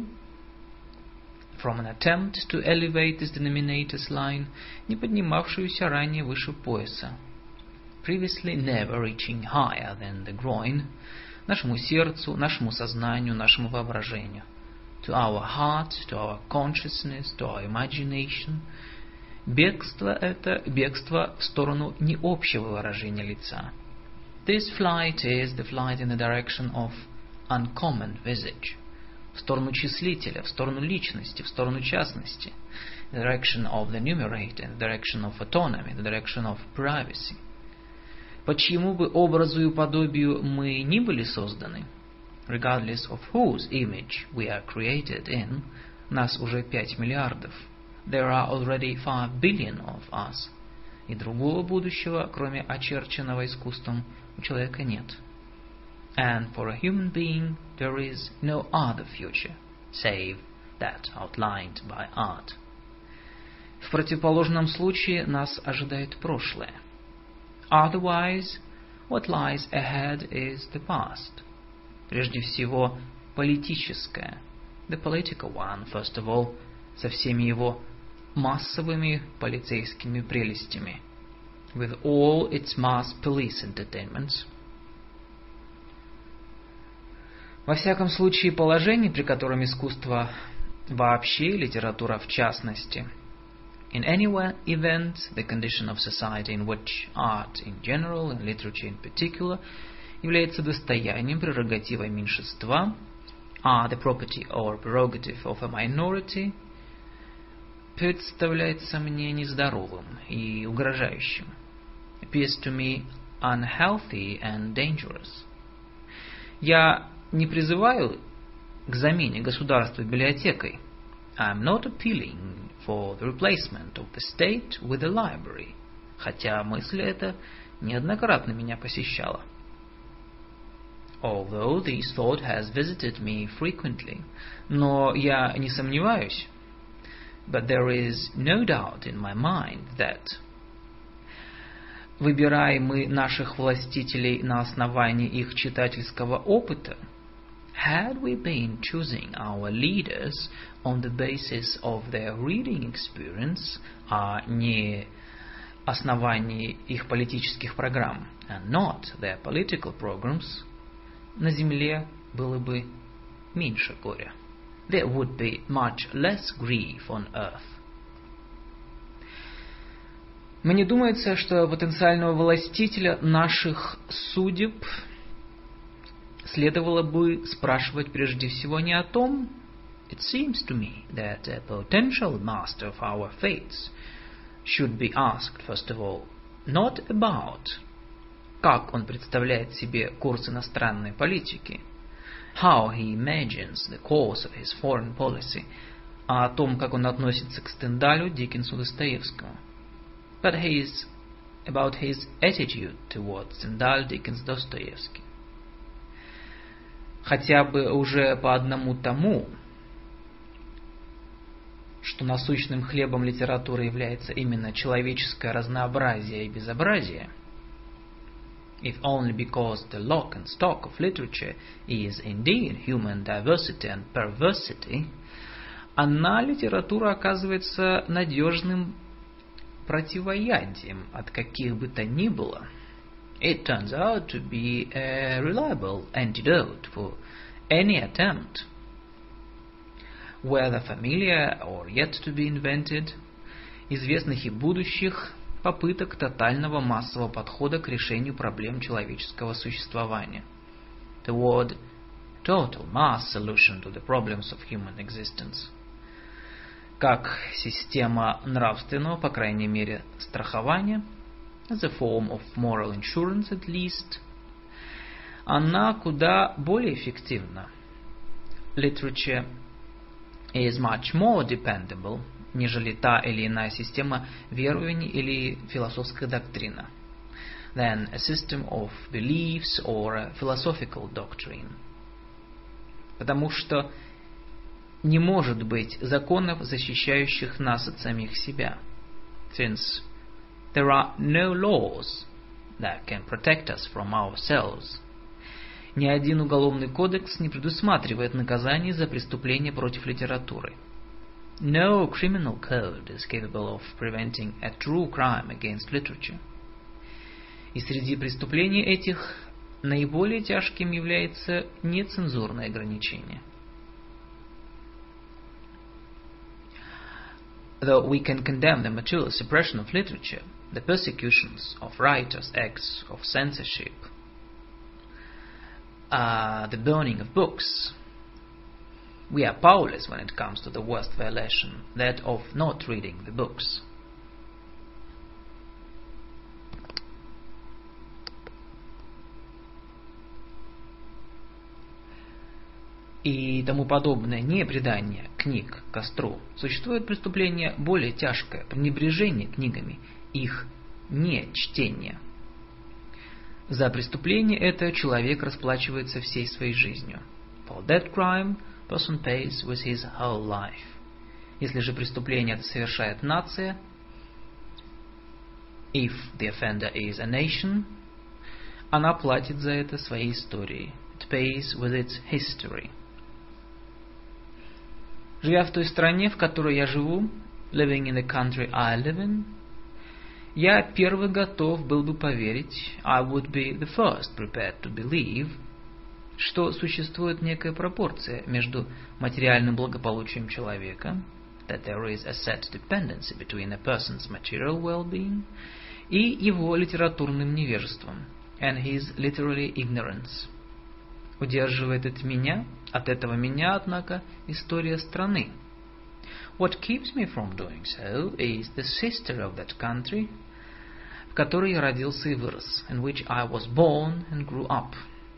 from an attempt to elevate this denominator's line, не поднимавшуюся ранее выше пояса, previously never reaching higher than the groin, нашему сердцу, нашему сознанию, нашему воображению, to our heart, to our consciousness, to our imagination. Бегство это бегство в сторону не общего выражения лица. This flight is the flight in the direction of uncommon visage, в сторону числителя, в сторону личности, в сторону частности, the direction of the numerator, the direction of autonomy, the direction of privacy. По чьему бы образу и подобию мы ни были созданы, regardless of whose image we are created in, нас уже 5 миллиардов, there are already 5 billion of us, и другого будущего, кроме очерченного искусством, у человека нет. And for a human being there is no other future, save that outlined by art. В противоположном случае нас ожидает прошлое. Otherwise, what lies ahead is the past. Прежде всего, политическое, the political one, first of all, со всеми его массовыми полицейскими прелестями, with all its mass police entertainments. Во всяком случае, положение, при котором искусство вообще, литература в частности, in any event, the condition of society in which art in general and literature in particular является достоянием, прерогативой меньшинства, are the property or prerogative of a minority, представляется мне нездоровым и угрожающим, appears to me unhealthy and dangerous. Я не призываю к замене государства библиотекой. I am not appealing for the replacement of the state with a library, хотя мысль эта неоднократно меня посещала. Although this thought has visited me frequently, но я не сомневаюсь, but there is no doubt in my mind that, выбираем мы наших властителей на основании их читательского опыта, had we been choosing our leaders on the basis of their reading experience, а не основании их политических программ, and not their political programs, на земле было бы меньше горя. There would be much less grief on earth. Мне думается, что потенциального властителя наших судеб следовало бы спрашивать прежде всего не о том, it seems to me that a potential master of our fates should be asked, first of all, not about, как он представляет себе курс иностранной политики, how he imagines the course of his foreign policy, а о том, как он относится к Стендалю, Диккенсу, Достоевскому. But he is about his attitude towards Stendhal, Dickens, Dostoevsky. Хотя бы уже по одному тому, что насущным хлебом литературы является именно человеческое разнообразие и безобразие, if only because the lock and stock of literature is indeed human diversity and perversity, она, литература, оказывается надежным противоядием от каких бы то ни было. It turns out to be a reliable antidote for any attempt, whether familiar or yet to be invented, известных и будущих попыток тотального массового подхода к решению проблем человеческого существования, toward total mass solution to the problems of human existence. Как система нравственного, по крайней мере, страхования, as a form of moral insurance at least, она куда более эффективна. Literature is much more dependable, нежели та или иная система верований или философская доктрина, than a system of beliefs or a philosophical doctrine. Потому что не может быть законов, защищающих нас от самих себя, since there are no laws that can protect us from ourselves. Ни один уголовный кодекс не предусматривает наказание за преступление против литературы. No criminal code is capable of preventing a true crime against literature. И среди преступлений этих наиболее тяжким является нецензурное ограничение. Though we can condemn the material suppression of literature, the persecutions of writers, acts of censorship, the burning of books, we are powerless when it comes to the worst violation, that of not reading the books. И тому подобное непредание книг костру. Существует преступление более тяжкое, пренебрежение книгами, их нечтение. За преступление это человек расплачивается всей своей жизнью. For that crime, person pays with his whole life. Если же преступление это совершает нация, if the offender is a nation, она платит за это своей историей. It pays with its history. Живя в той стране, в которой я живу, living in the country I live in, я первый готов был бы поверить, I would be the first prepared to believe, что существует некая пропорция между материальным благополучием человека, that there is a set dependency between a person's material well-being, и его литературным невежеством, and his literary ignorance. Удерживает от этого меня, однако, история страны. What keeps me from doing so is the history of that country, в которой я родился и вырос, in which I was born and grew up.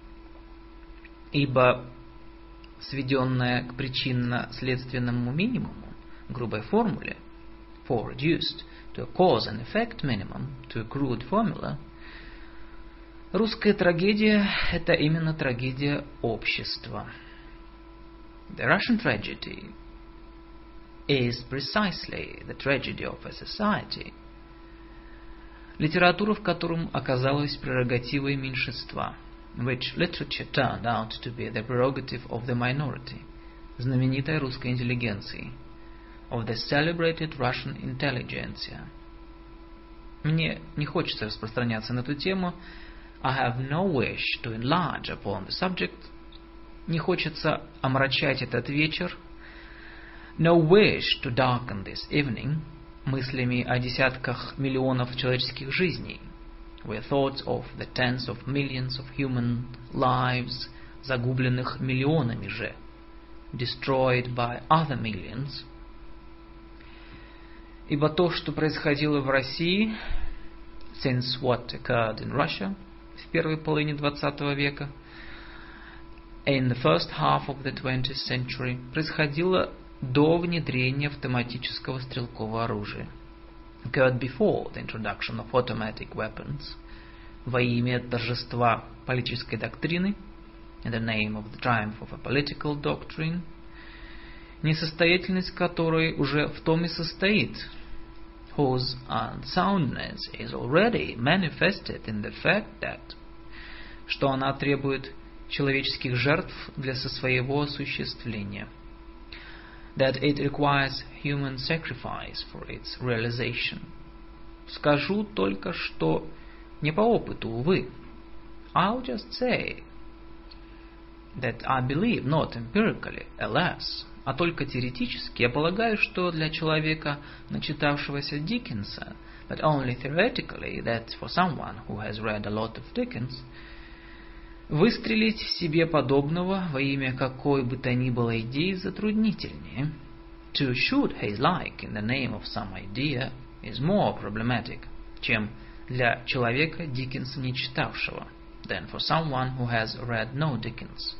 Ибо сведенная к причинно-следственному минимуму, грубой формуле, for reduced to a cause and effect minimum, to a crude formula, русская трагедия – это именно трагедия общества. The Russian tragedy is precisely the tragedy of a society. Литература, в котором оказалась прерогативой меньшинства, which literature turned out to be the prerogative of the minority, знаменитой русской интеллигенции, of the celebrated Russian intelligentsia. Мне не хочется распространяться на эту тему. I have no wish to enlarge upon the subject. Не хочется омрачать этот вечер. No wish to darken this evening мыслями о десятках миллионов человеческих жизней, with thoughts of the tens of millions of human lives, загубленных миллионами же, destroyed by other millions. Ибо то, что происходило в России, since what occurred in Russia в первой половине XX века, in the first half of the 20th century происходило до внедрения автоматического стрелкового оружия. Occurred before the introduction of automatic weapons, во имя торжества политической доктрины, in the name of the triumph of a political doctrine, несостоятельность которой уже в том и состоит, whose unsoundness is already manifested in the fact that, что она требует человеческих жертв для своего осуществления, that it requires human sacrifice for its realization. Скажу только, что не по опыту, увы. I'll just say that I believe, not empirically, alas, а только теоретически. Я полагаю, что для человека, начитавшегося Диккенса, but only theoretically, that for someone who has read a lot of Dickens, выстрелить в себе подобного во имя какой бы то ни было идеи затруднительнее. To shoot his like in the name of some idea is more problematic, чем для человека, Диккенса не читавшего, than for someone who has read no Dickens.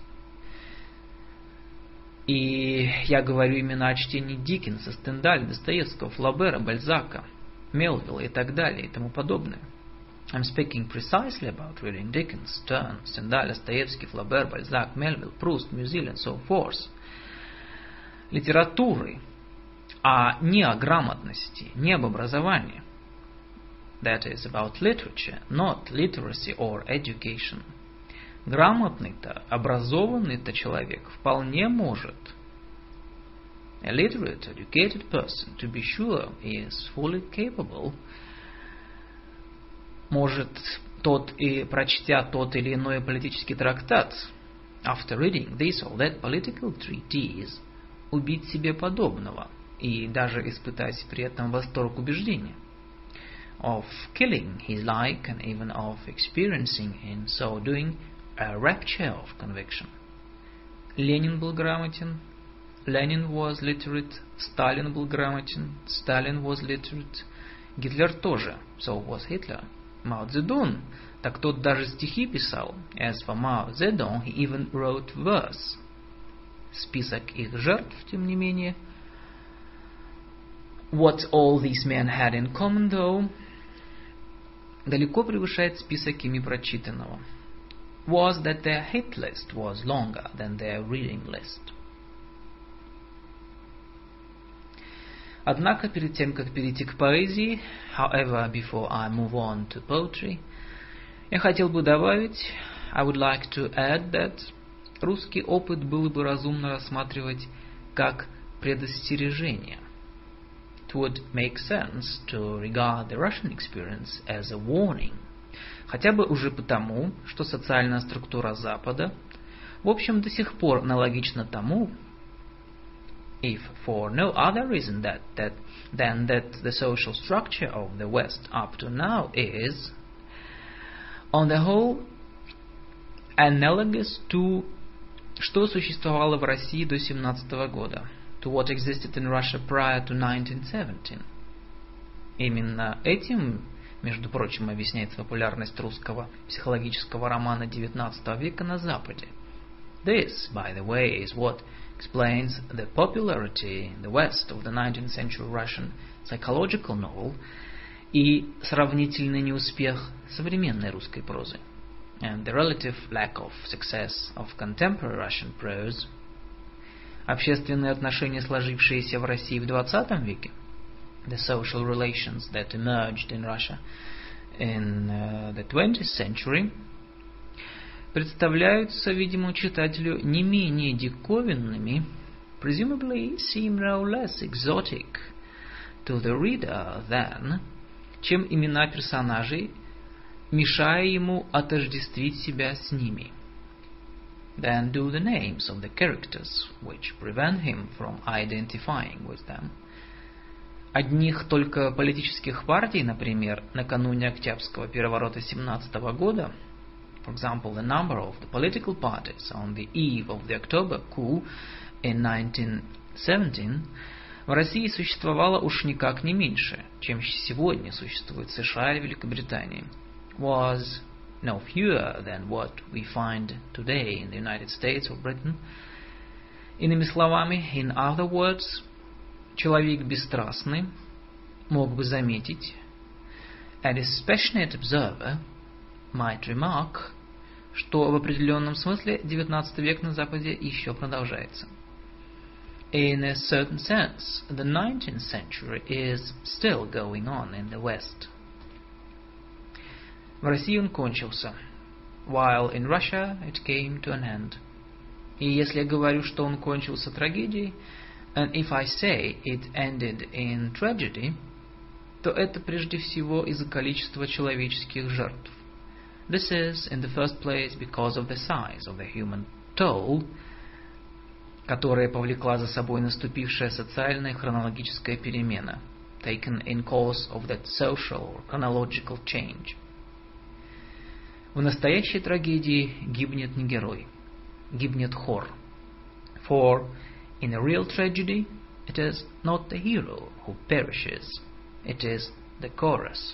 И я говорю именно о чтении Диккенса, Стендаля, Достоевского, Флобера, Бальзака, Мелвилла и так далее и тому подобное. I'm speaking precisely about reading Dickens, Sterne, Stendhal, Dostoevsky, Flaubert, Balzac, Melville, Proust, Musil and so forth. Литературы, а не о грамотности, не об образовании. That is about literature, not literacy or education. Грамотный-то, образованный-то человек вполне может. A literate, educated person, to be sure, is fully capable. Может тот и прочтя тот или иной политический трактат, after reading this or that political treatise, убить себе подобного и даже испытать при этом восторг убеждения. Of killing his like and even of experiencing in so doing a rapture of conviction. Ленин был грамотен, Lenin was literate, Сталин был грамотен, Stalin was literate, Гитлер тоже, so was Hitler. Мао Цзэдун, так тот даже стихи писал. As for Mao Zedong, he even wrote verse. Список их жертв, тем не менее. What all these men had in common, though, далеко превышает список ими прочитанного. Was that their hit list was longer than their reading list. Однако, перед тем, как перейти к поэзии, however, before I move on to poetry, я хотел бы добавить, I would like to add that русский опыт было бы разумно рассматривать как предостережение. It would make sense to regard the Russian experience as a warning, хотя бы уже потому, что социальная структура Запада, в общем, до сих пор аналогична тому, if for no other reason than that the social structure of the West up to now is, on the whole, analogous to что существовало в России до 17 года, to what existed in Russia prior to 1917. Именно этим, между прочим, объясняется популярность русского психологического романа XIX века на Западе. This, by the way, is what explains the popularity in the West of the 19th century Russian psychological novel и сравнительный неуспех современной русской прозы, and the relative lack of success of contemporary Russian prose. Общественные отношения, сложившиеся в России в XX веке, the social relations that emerged in Russia in the 20th century, представляются, видимо, читателю не менее диковинными, presumably seem no less exotic to the reader than, чем имена персонажей, мешая ему отождествить себя с ними, than do the names of the characters, which prevent him from identifying with them. Одних только политических партий, например, накануне Октябрьского переворота 17 года, for example, the number of the political parties on the eve of the October coup in 1917, в России существовало уж никак не меньше, чем сегодня существует в США и Великобритании. Was no fewer than what we find today in the United States or Britain. Иными словами, in other words, человек бесстрастный мог бы заметить, a dispassionate observer might remark, что в определенном смысле XIX век на Западе еще продолжается. In a certain sense, the 19th century is still going on in the West. В России он кончился, while in Russia it came to an end. И если я говорю, что он кончился трагедией, and if I say it ended in tragedy, то это прежде всего из-за количества человеческих жертв. This is, in the first place, because of the size of the human toll, которая повлекла за собой наступившая социальная хронологическая перемена, taken in course of that social or chronological change. В настоящей трагедии гибнет не герой, гибнет хор. For in a real tragedy, it is not the hero who perishes, it is the chorus.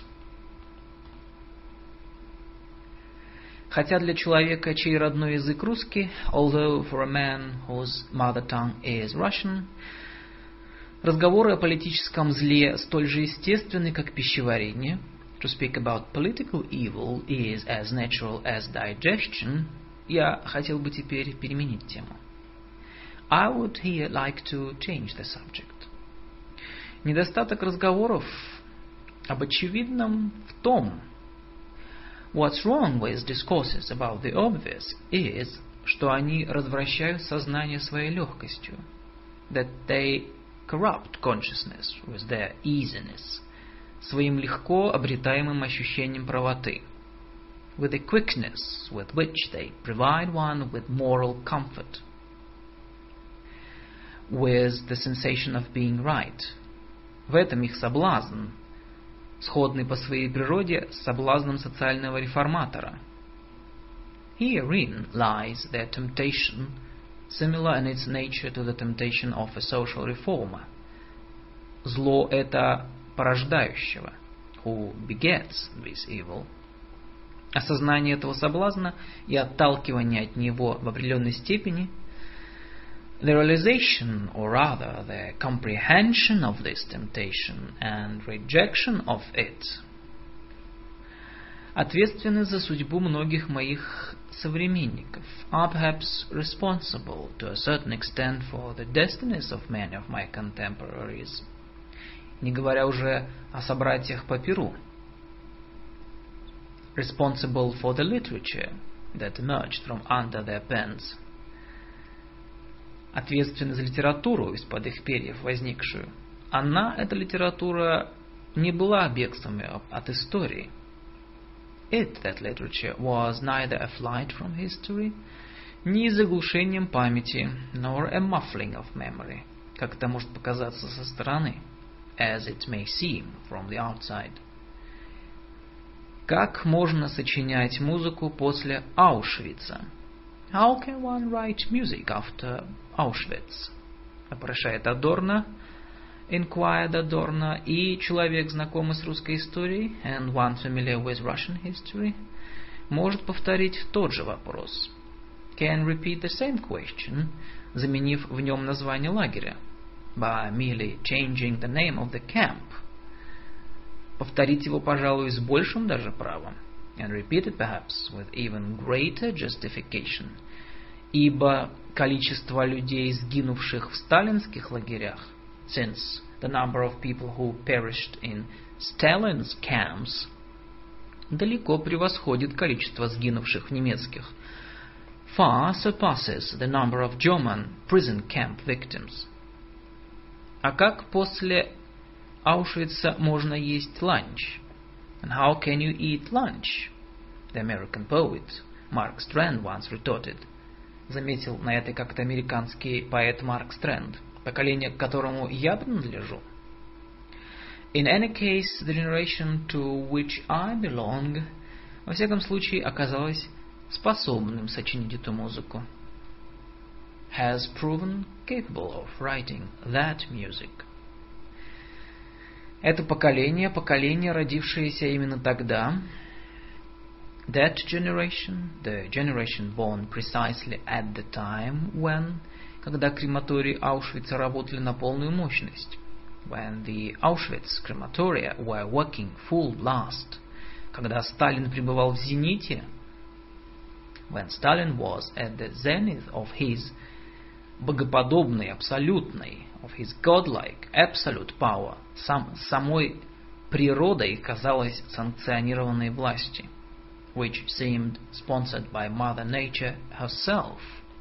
Хотя для человека, чей родной язык русский, although for a man whose mother tongue is Russian, разговоры о политическом зле столь же естественны, как пищеварение, to speak about political evil is as natural as digestion, я хотел бы теперь переменить тему. I would here like to change the subject. Недостаток разговоров об очевидном в том, what's wrong with discourses about the obvious is, что они развращают сознание своей легкостью, that they corrupt consciousness with their easiness, своим легко обретаемым ощущением правоты, with the quickness with which they provide one with moral comfort, with the sensation of being right. В этом их соблазн, сходный по своей природе с соблазном социального реформатора. Herein lies their temptation, similar in its nature to the temptation of a social reformer. Зло это порождающего, who begets this evil. Осознание этого соблазна и отталкивание от него в определенной степени, the realization, or rather the comprehension of this temptation and rejection of it, ответственны за судьбу многих моих современников, are perhaps responsible to a certain extent for the destinies of many of my contemporaries, не говоря уже о собратьях по перу, responsible for the literature that emerged from under their pens, ответственны за литературу из-под их перьев возникшую. Она, эта литература, не была бегством от истории. It, that literature, was neither a flight from history, ни заглушением памяти, nor a muffling of memory, как это может показаться со стороны, as it may seem from the outside. Как можно сочинять музыку после Аушвица? How can one write music after Auschwitz? Вопрошает Адорно, inquired Adorno, и человек, знакомый с русской историей, and one familiar with Russian history, может повторить тот же вопрос. Can repeat the same question, заменив в нем название лагеря, by merely changing the name of the camp. Повторить его, пожалуй, с большим даже правом, and repeat it perhaps with even greater justification, ибо количество людей, сгинувших в сталинских лагерях, since the number of people who perished in Stalin's camps далеко превосходит количество сгинувших в немецких, far surpasses the number of German prison camp victims. А как после Аушвица можно есть ланч? And how can you eat lunch? The American poet Mark Strand once retorted. Заметил на это как-то американский поэт Марк Стрэнд, поколение, к которому я принадлежу. In any case, the generation to which I belong, во всяком случае, оказалось способным сочинить эту музыку. Has proven capable of writing that music. Это поколение, родившееся именно тогда, that generation, the generation born precisely at the time when, когда крематории Аушвица работали на полную мощность, when the Auschwitz crematoria were working full blast, когда Сталин пребывал в зените, when Stalin was at the zenith of his богоподобной, абсолютной, of his godlike, absolute power, самой природой казалось санкционированной власти, which seemed sponsored by Mother Nature herself.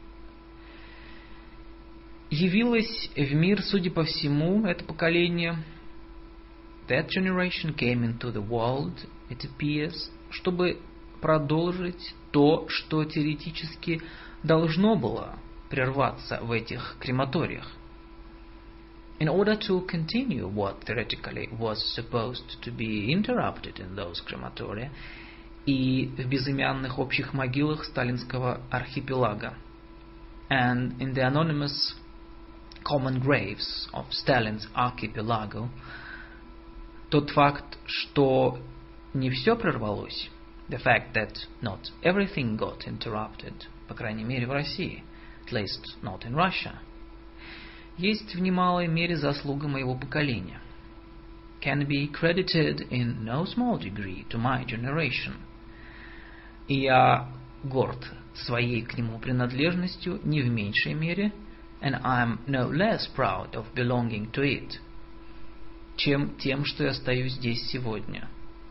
Явилось в мир, судя по всему, это поколение, that generation came into the world, it appears, чтобы продолжить то, что теоретически должно было прерваться в этих крематориях. In order to continue what theoretically was supposed to be interrupted in those crematoria и в безымянных общих могилах сталинского архипелага, and in the anonymous common graves of Stalin's archipelago, тот факт, что не все прервалось, the fact that not everything got interrupted, по крайней мере в России, at least not in Russia, есть в немалой мере заслуга моего поколения, can be credited in no small degree to my generation. И я горд своей к нему принадлежностью не в меньшей мере, and I'm no less proud of belonging to it, чем тем, что я стою здесь сегодня,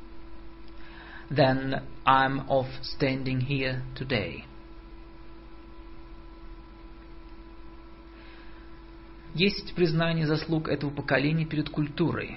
than I'm of standing here today. Есть признание заслуг этого поколения перед культурой.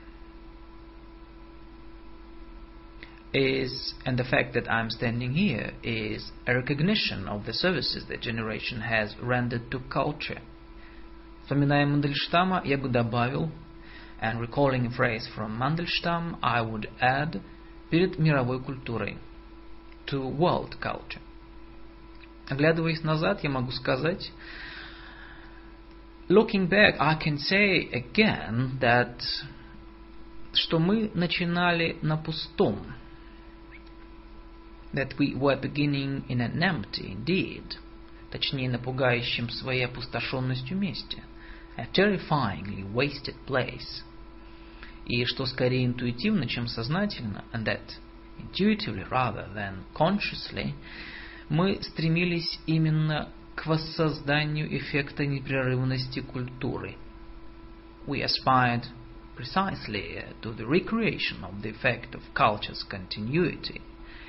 And the fact that I'm standing here is a recognition of the services the generation has rendered to culture. Вспоминая Мандельштама, я бы добавил, and recalling a phrase from Mandelstam, I would add, перед мировой культурой, to world culture. Оглядываясь назад, я могу сказать, looking back, I can say again that, что мы начинали на пустом, that we were beginning in an empty, indeed, точнее, на пугающем своей опустошенностью месте, a terrifyingly wasted place, и что скорее интуитивно, чем сознательно, and that intuitively rather than consciously, мы стремились именно к воссозданию эффекта непрерывности культуры. We aspired precisely to the recreation of the effect of culture's continuity,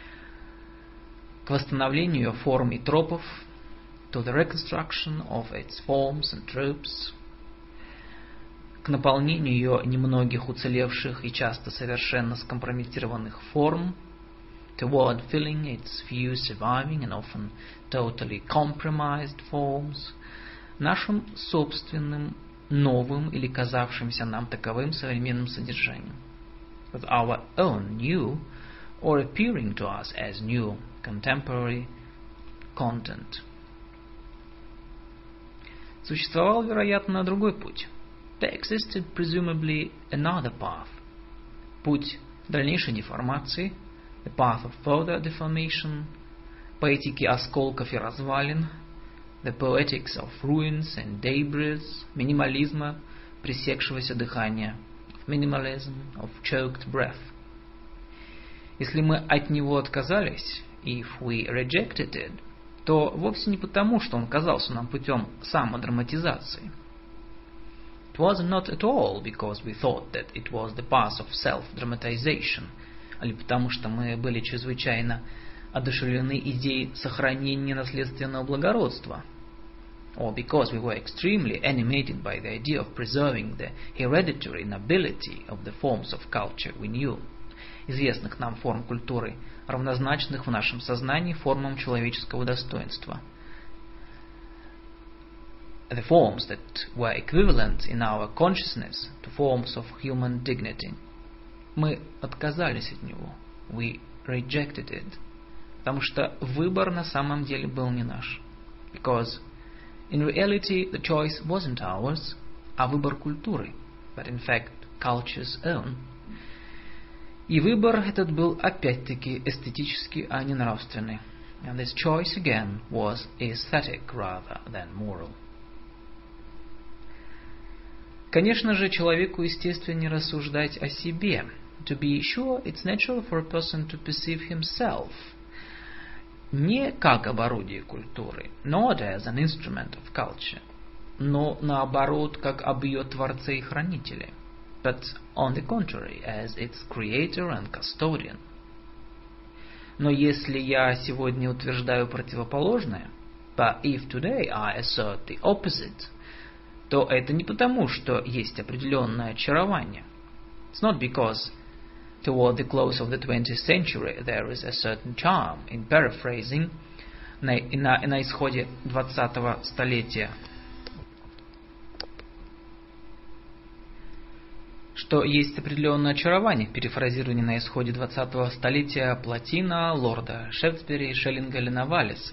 к восстановлению ее форм и тропов, to the reconstruction of its forms and tropes, к наполнению ее немногих уцелевших и часто совершенно скомпрометированных форм, toward filling its few surviving and often totally compromised forms, нашим собственным, новым или казавшимся нам таковым современным содержанием, with our own new or appearing to us as new contemporary content. Существовал, вероятно, другой путь. There existed presumably another path. Путь дальнейшей деформации, the path of further deformation, поэтики осколков и развалин, the poetics of ruins and debris, минимализма, пресекшегося дыхания, minimalism, of choked breath. Если мы от него отказались, if we rejected it, то вовсе не потому, что он казался нам путем самодраматизации. It was not at all because we thought that it was the path of self-dramatization, или потому что мы были чрезвычайно одушевлены идеей сохранения наследственного благородства, or because we were extremely animated by the idea of preserving the hereditary nobility of the forms of culture we knew, известных нам форм культуры, равнозначных в нашем сознании формам человеческого достоинства. The forms that were equivalent in our consciousness to forms of human dignity. Мы отказались от него. We rejected it. Потому что выбор на самом деле был не наш. Because in reality the choice wasn't ours, а выбор культуры, but in fact culture's own. И выбор этот был опять-таки эстетический, а не нравственный. And this choice again was aesthetic rather than moral. Конечно же, человеку естественно рассуждать о себе. To be sure, it's natural for a person to perceive himself не как об орудии культуры, not as an instrument of culture, но наоборот, как об ее творце и хранителе, but on the contrary, as its creator and custodian. Но если я сегодня утверждаю противоположное, but if today I assert the opposite, то это не потому, что есть определенное очарование. It's not because toward the close of the 20th century there is a certain charm in paraphrasing на исходе 20-го столетия, что есть определенное очарование в перефразировании на исходе 20-го столетия Платина, лорда Шефсбери, Шеллинга или Новалиса.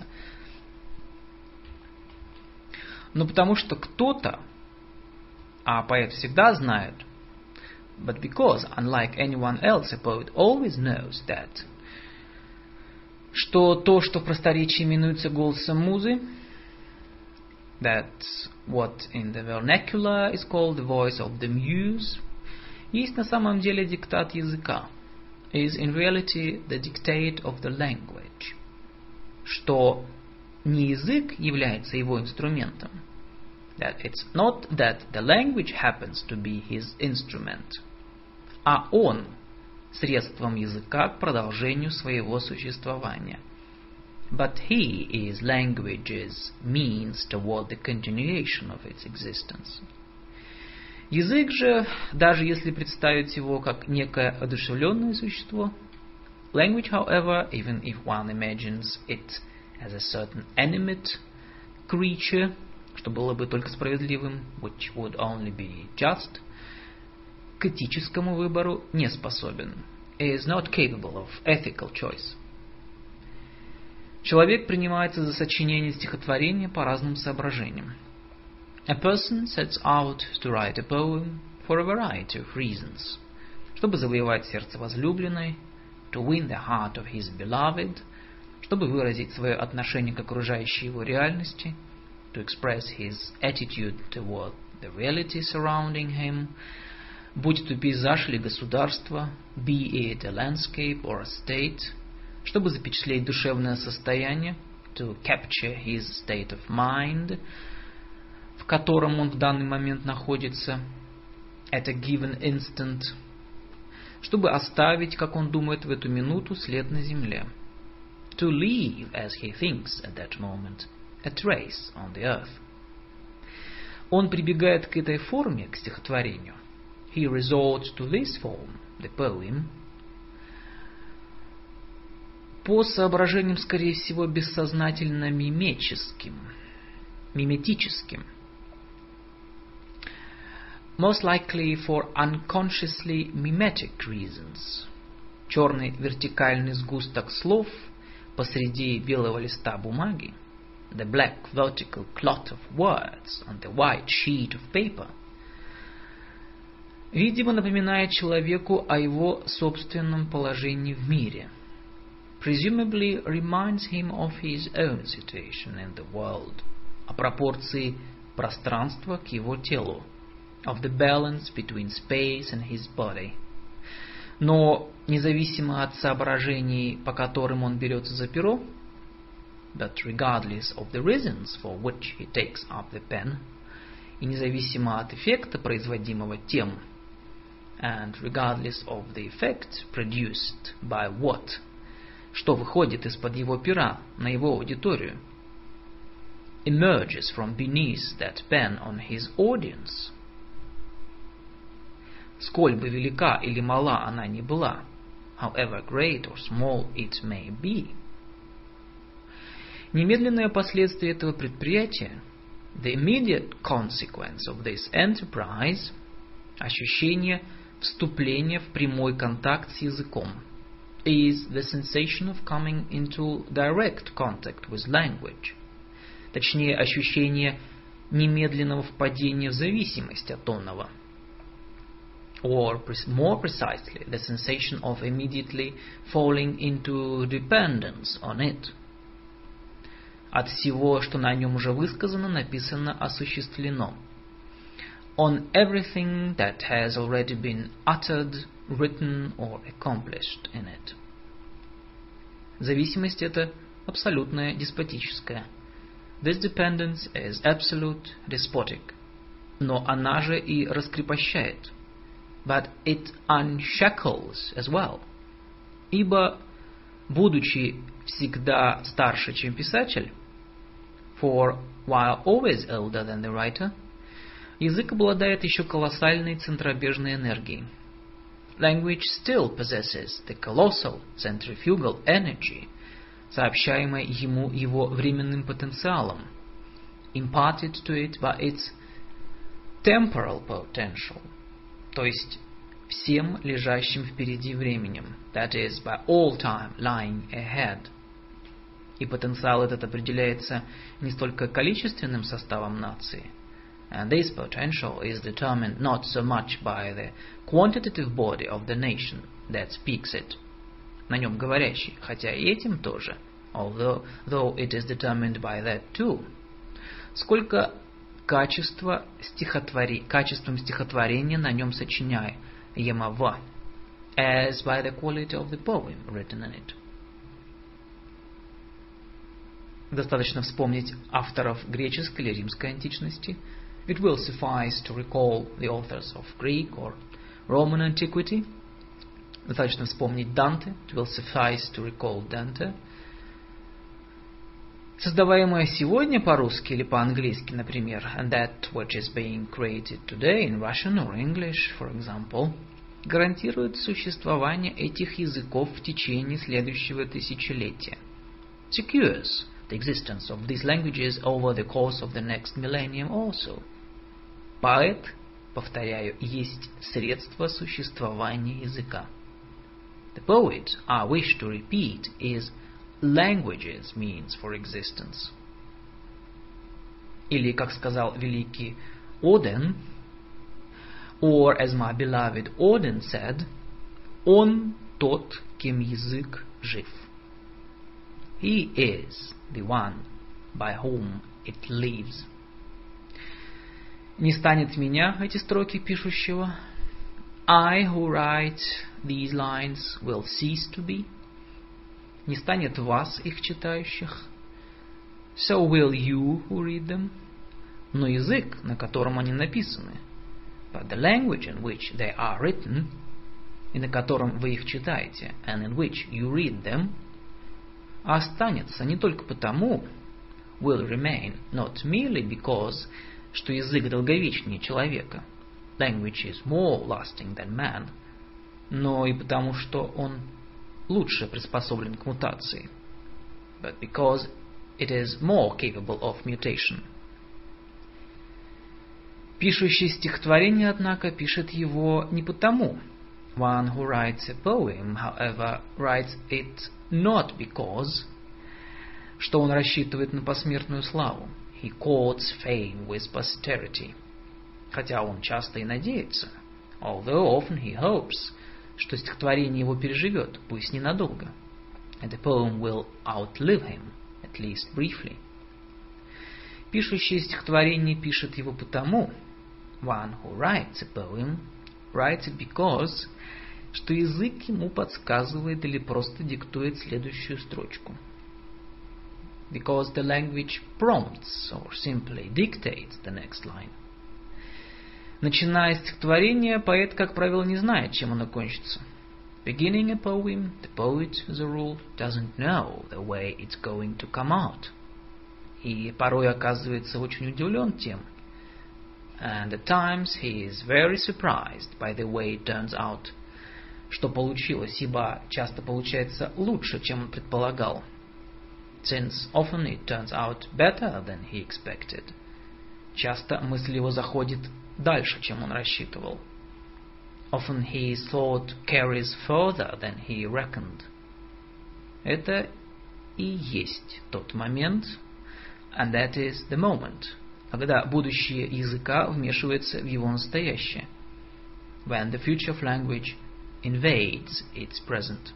Но потому что кто-то, а поэт всегда знает, but because, unlike anyone else, a poet always knows that, что то, что в просторечии именуется голосом музы, that what in the vernacular is called the voice of the muse, есть на самом деле диктат языка, is in reality the dictate of the language, что не язык является его инструментом, that it's not that the language happens to be his instrument, а он средством языка к продолжению своего существования. But he is language's means toward the continuation of its existence. Язык же, даже если представить его как некое одушевленное существо, language, however, even if one imagines it as a certain animate creature, что было бы только справедливым, which would only be just, к этическому выбору не способен, is not capable of ethical choice. Человек принимается за сочинение стихотворения по разным соображениям. A person sets out to write a poem for a variety of reasons. Чтобы завоевать сердце возлюбленной, to win the heart of his beloved, чтобы выразить свое отношение к окружающей его реальности, to express his attitude toward the reality surrounding him, будь то пейзаж или государство, be it a landscape or a state, чтобы запечатлеть душевное состояние, to capture his state of mind, в котором он в данный момент находится, at a given instant, чтобы оставить, как он думает в эту минуту, след на земле, to leave, as he thinks at that moment, a trace on the earth. Он прибегает к этой форме, к стихотворению. He resorts to this form, the poem, по соображениям, скорее всего, бессознательно миметическим, most likely for unconsciously mimetic reasons. Черный вертикальный сгусток слов посреди белого листа бумаги, the black vertical clot of words on the white sheet of paper, видимо, напоминает человеку о его собственном положении в мире, presumably reminds him of his own situation in the world, о пропорции пространства к его телу, of the balance between space and his body. Но независимо от соображений, по которым он берется за перо, but regardless of the reasons for which he takes up the pen, и независимо от эффекта, производимого тем, and regardless of the effect produced by what, что выходит из-под его пера на его аудиторию, emerges from beneath that pen on his audience, сколь бы велика или мала она ни была, however great or small it may be, немедленное последствие этого предприятия, the immediate consequence of this enterprise, ощущение вступления в прямой контакт с языком, is the sensation of coming into direct contact with language, точнее, ощущение немедленного впадения в зависимость от онного, or more precisely, the sensation of immediately falling into dependence on it. От всего, что на нем уже высказано, написано, осуществлено. On everything that has already been uttered, written or accomplished in it. Зависимость эта абсолютная, деспотическая. This dependence is absolute, despotic. Но она же и раскрепощает. But it unshackles as well. Ибо, будучи всегда старше, чем писатель, for while always elder than the writer, язык обладает еще колоссальной центробежной энергией. Language still possesses the colossal centrifugal energy, сообщаемой ему его временным потенциалом, imparted to it by its temporal potential, то есть всем лежащим впереди временем, that is, by all time lying ahead. И потенциал этот определяется не столько количественным составом нации, and this potential is determined not so much by the quantitative body of the nation that speaks it, на нем говорящий, хотя и этим тоже, though it is determined by that too, сколько качеством стихотворения на нем сочиняемого, as by the quality of the poem written in it. Достаточно вспомнить авторов греческой или римской античности. It will suffice to recall the authors of Greek or Roman antiquity. Достаточно вспомнить Данте. It will suffice to recall Dante. Создаваемое сегодня по-русски или по-английски, например, and that which is being created today in Russian or English, for example, гарантирует существование этих языков в течение следующего тысячелетия. Secures the existence of these languages over the course of the next millennium also. Поэт, повторяю, есть средство существования языка. The poet, I wish to repeat, is language's means for existence. Или, как сказал великий Оден, or as my beloved Odin said, он тот, кем язык жив. He is the one by whom it lives. Не станет меня, эти строки пишущего. I who write these lines will cease to be. Не станет вас, их читающих. So will you who read them. Но язык, на котором они написаны, but the language in which they are written, и на котором вы их читаете, and in which you read them, останется не только потому, will remain, not merely because, что язык долговечнее человека, language is more lasting than man, но и потому, что он лучше приспособлен к мутации, but because it is more capable of mutation. Пишущий стихотворение, однако, пишет его не потому. One who writes a poem, however, writes it not because, что он рассчитывает на посмертную славу. He courts fame with posterity. Хотя он часто и надеется, although often he hopes, что стихотворение его переживет, пусть ненадолго. And the poem will outlive him, at least briefly. Пишущий стихотворение пишет его потому, one who writes a poem writes it because, что язык ему подсказывает или просто диктует следующую строчку. Because the language prompts or simply dictates the next line. Начиная стихотворение, поэт, как правило, не знает, чем оно кончится. Beginning a poem, the poet, as a rule, doesn't know the way it's going to come out. И порой оказывается очень удивлен тем, and at times he is very surprised by the way it turns out, что получилось, ибо часто получается лучше, чем он предполагал. Since often it turns out better than he expected. Часто мысль его заходит дальше, чем он рассчитывал. Often his thought carries further than he reckoned. Это и есть тот момент, and that is the moment, когда будущее языка вмешивается в его настоящее. when the future of language invades its present.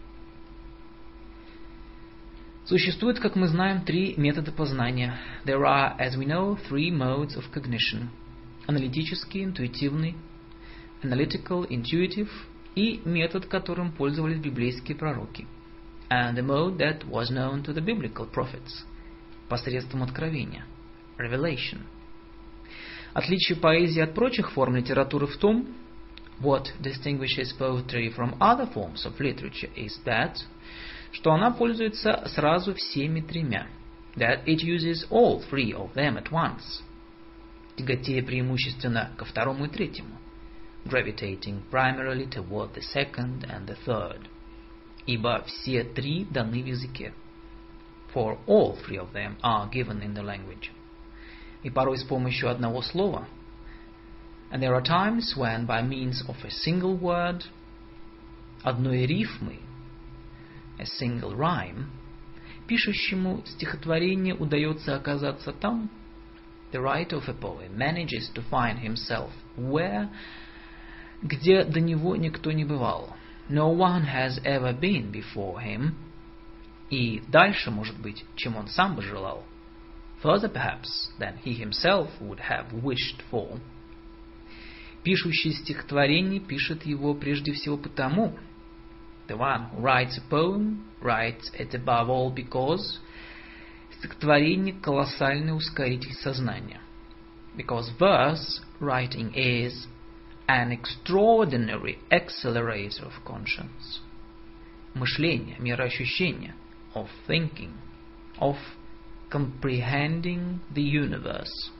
Существует, как мы знаем, 3 метода познания. There are, as we know, 3 modes of cognition. Аналитический, интуитивный, analytical, intuitive, и метод, которым пользовались библейские пророки. And the mode that was known to the biblical prophets. Посредством откровения. Revelation. Отличие поэзии от прочих форм литературы в том, what distinguishes poetry from other forms of literature is that, что она пользуется сразу всеми 3. That it uses all 3 of them at once. Тяготея преимущественно ко 2 и 3. Gravitating primarily toward the 2nd and the 3rd. Ибо все 3 даны в языке. For all 3 of them are given in the language. И порой с помощью одного слова. And there are times when by means of a single word, одной рифмы, a single rhyme, пишущему стихотворение удается оказаться там, the writer of a poem manages to find himself where, где до него никто не бывал. No one has ever been before him. И дальше, может быть, чем он сам бы желал. Further, perhaps, than he himself would have wished for. Пишущий стихотворение пишет его прежде всего потому, the one who writes a poem writes it above all because стихотворение – колоссальный ускоритель сознания. Because verse writing is an extraordinary accelerator of conscience. Мышление, мироощущение, of thinking, of comprehending the universe.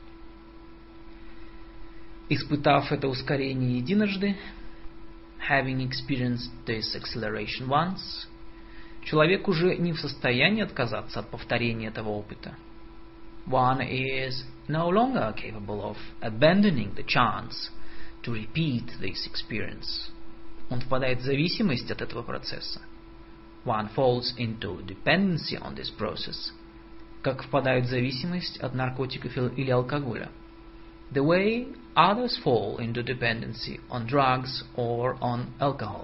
Испытав это ускорение единожды, having experienced this acceleration once, человек уже не в состоянии отказаться от повторения этого опыта. One is no longer capable of abandoning the chance to repeat this experience. Он впадает в зависимость от этого процесса. One falls into dependency on this process. Как впадают в зависимость от наркотиков или алкоголя. The way others fall into dependency on drugs or on alcohol.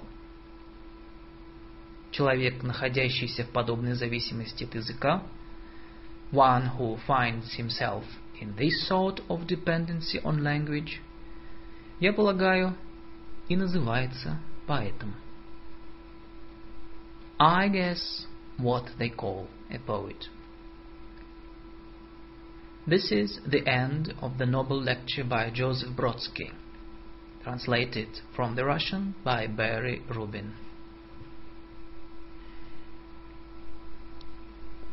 Человек, находящийся в подобной зависимости от языка, one who finds himself in this sort of dependency on language, я полагаю, и называется поэтом. I guess what they call a poet. This is the end of the noble lecture by Joseph Brodsky, translated from the Russian by Barry Rubin.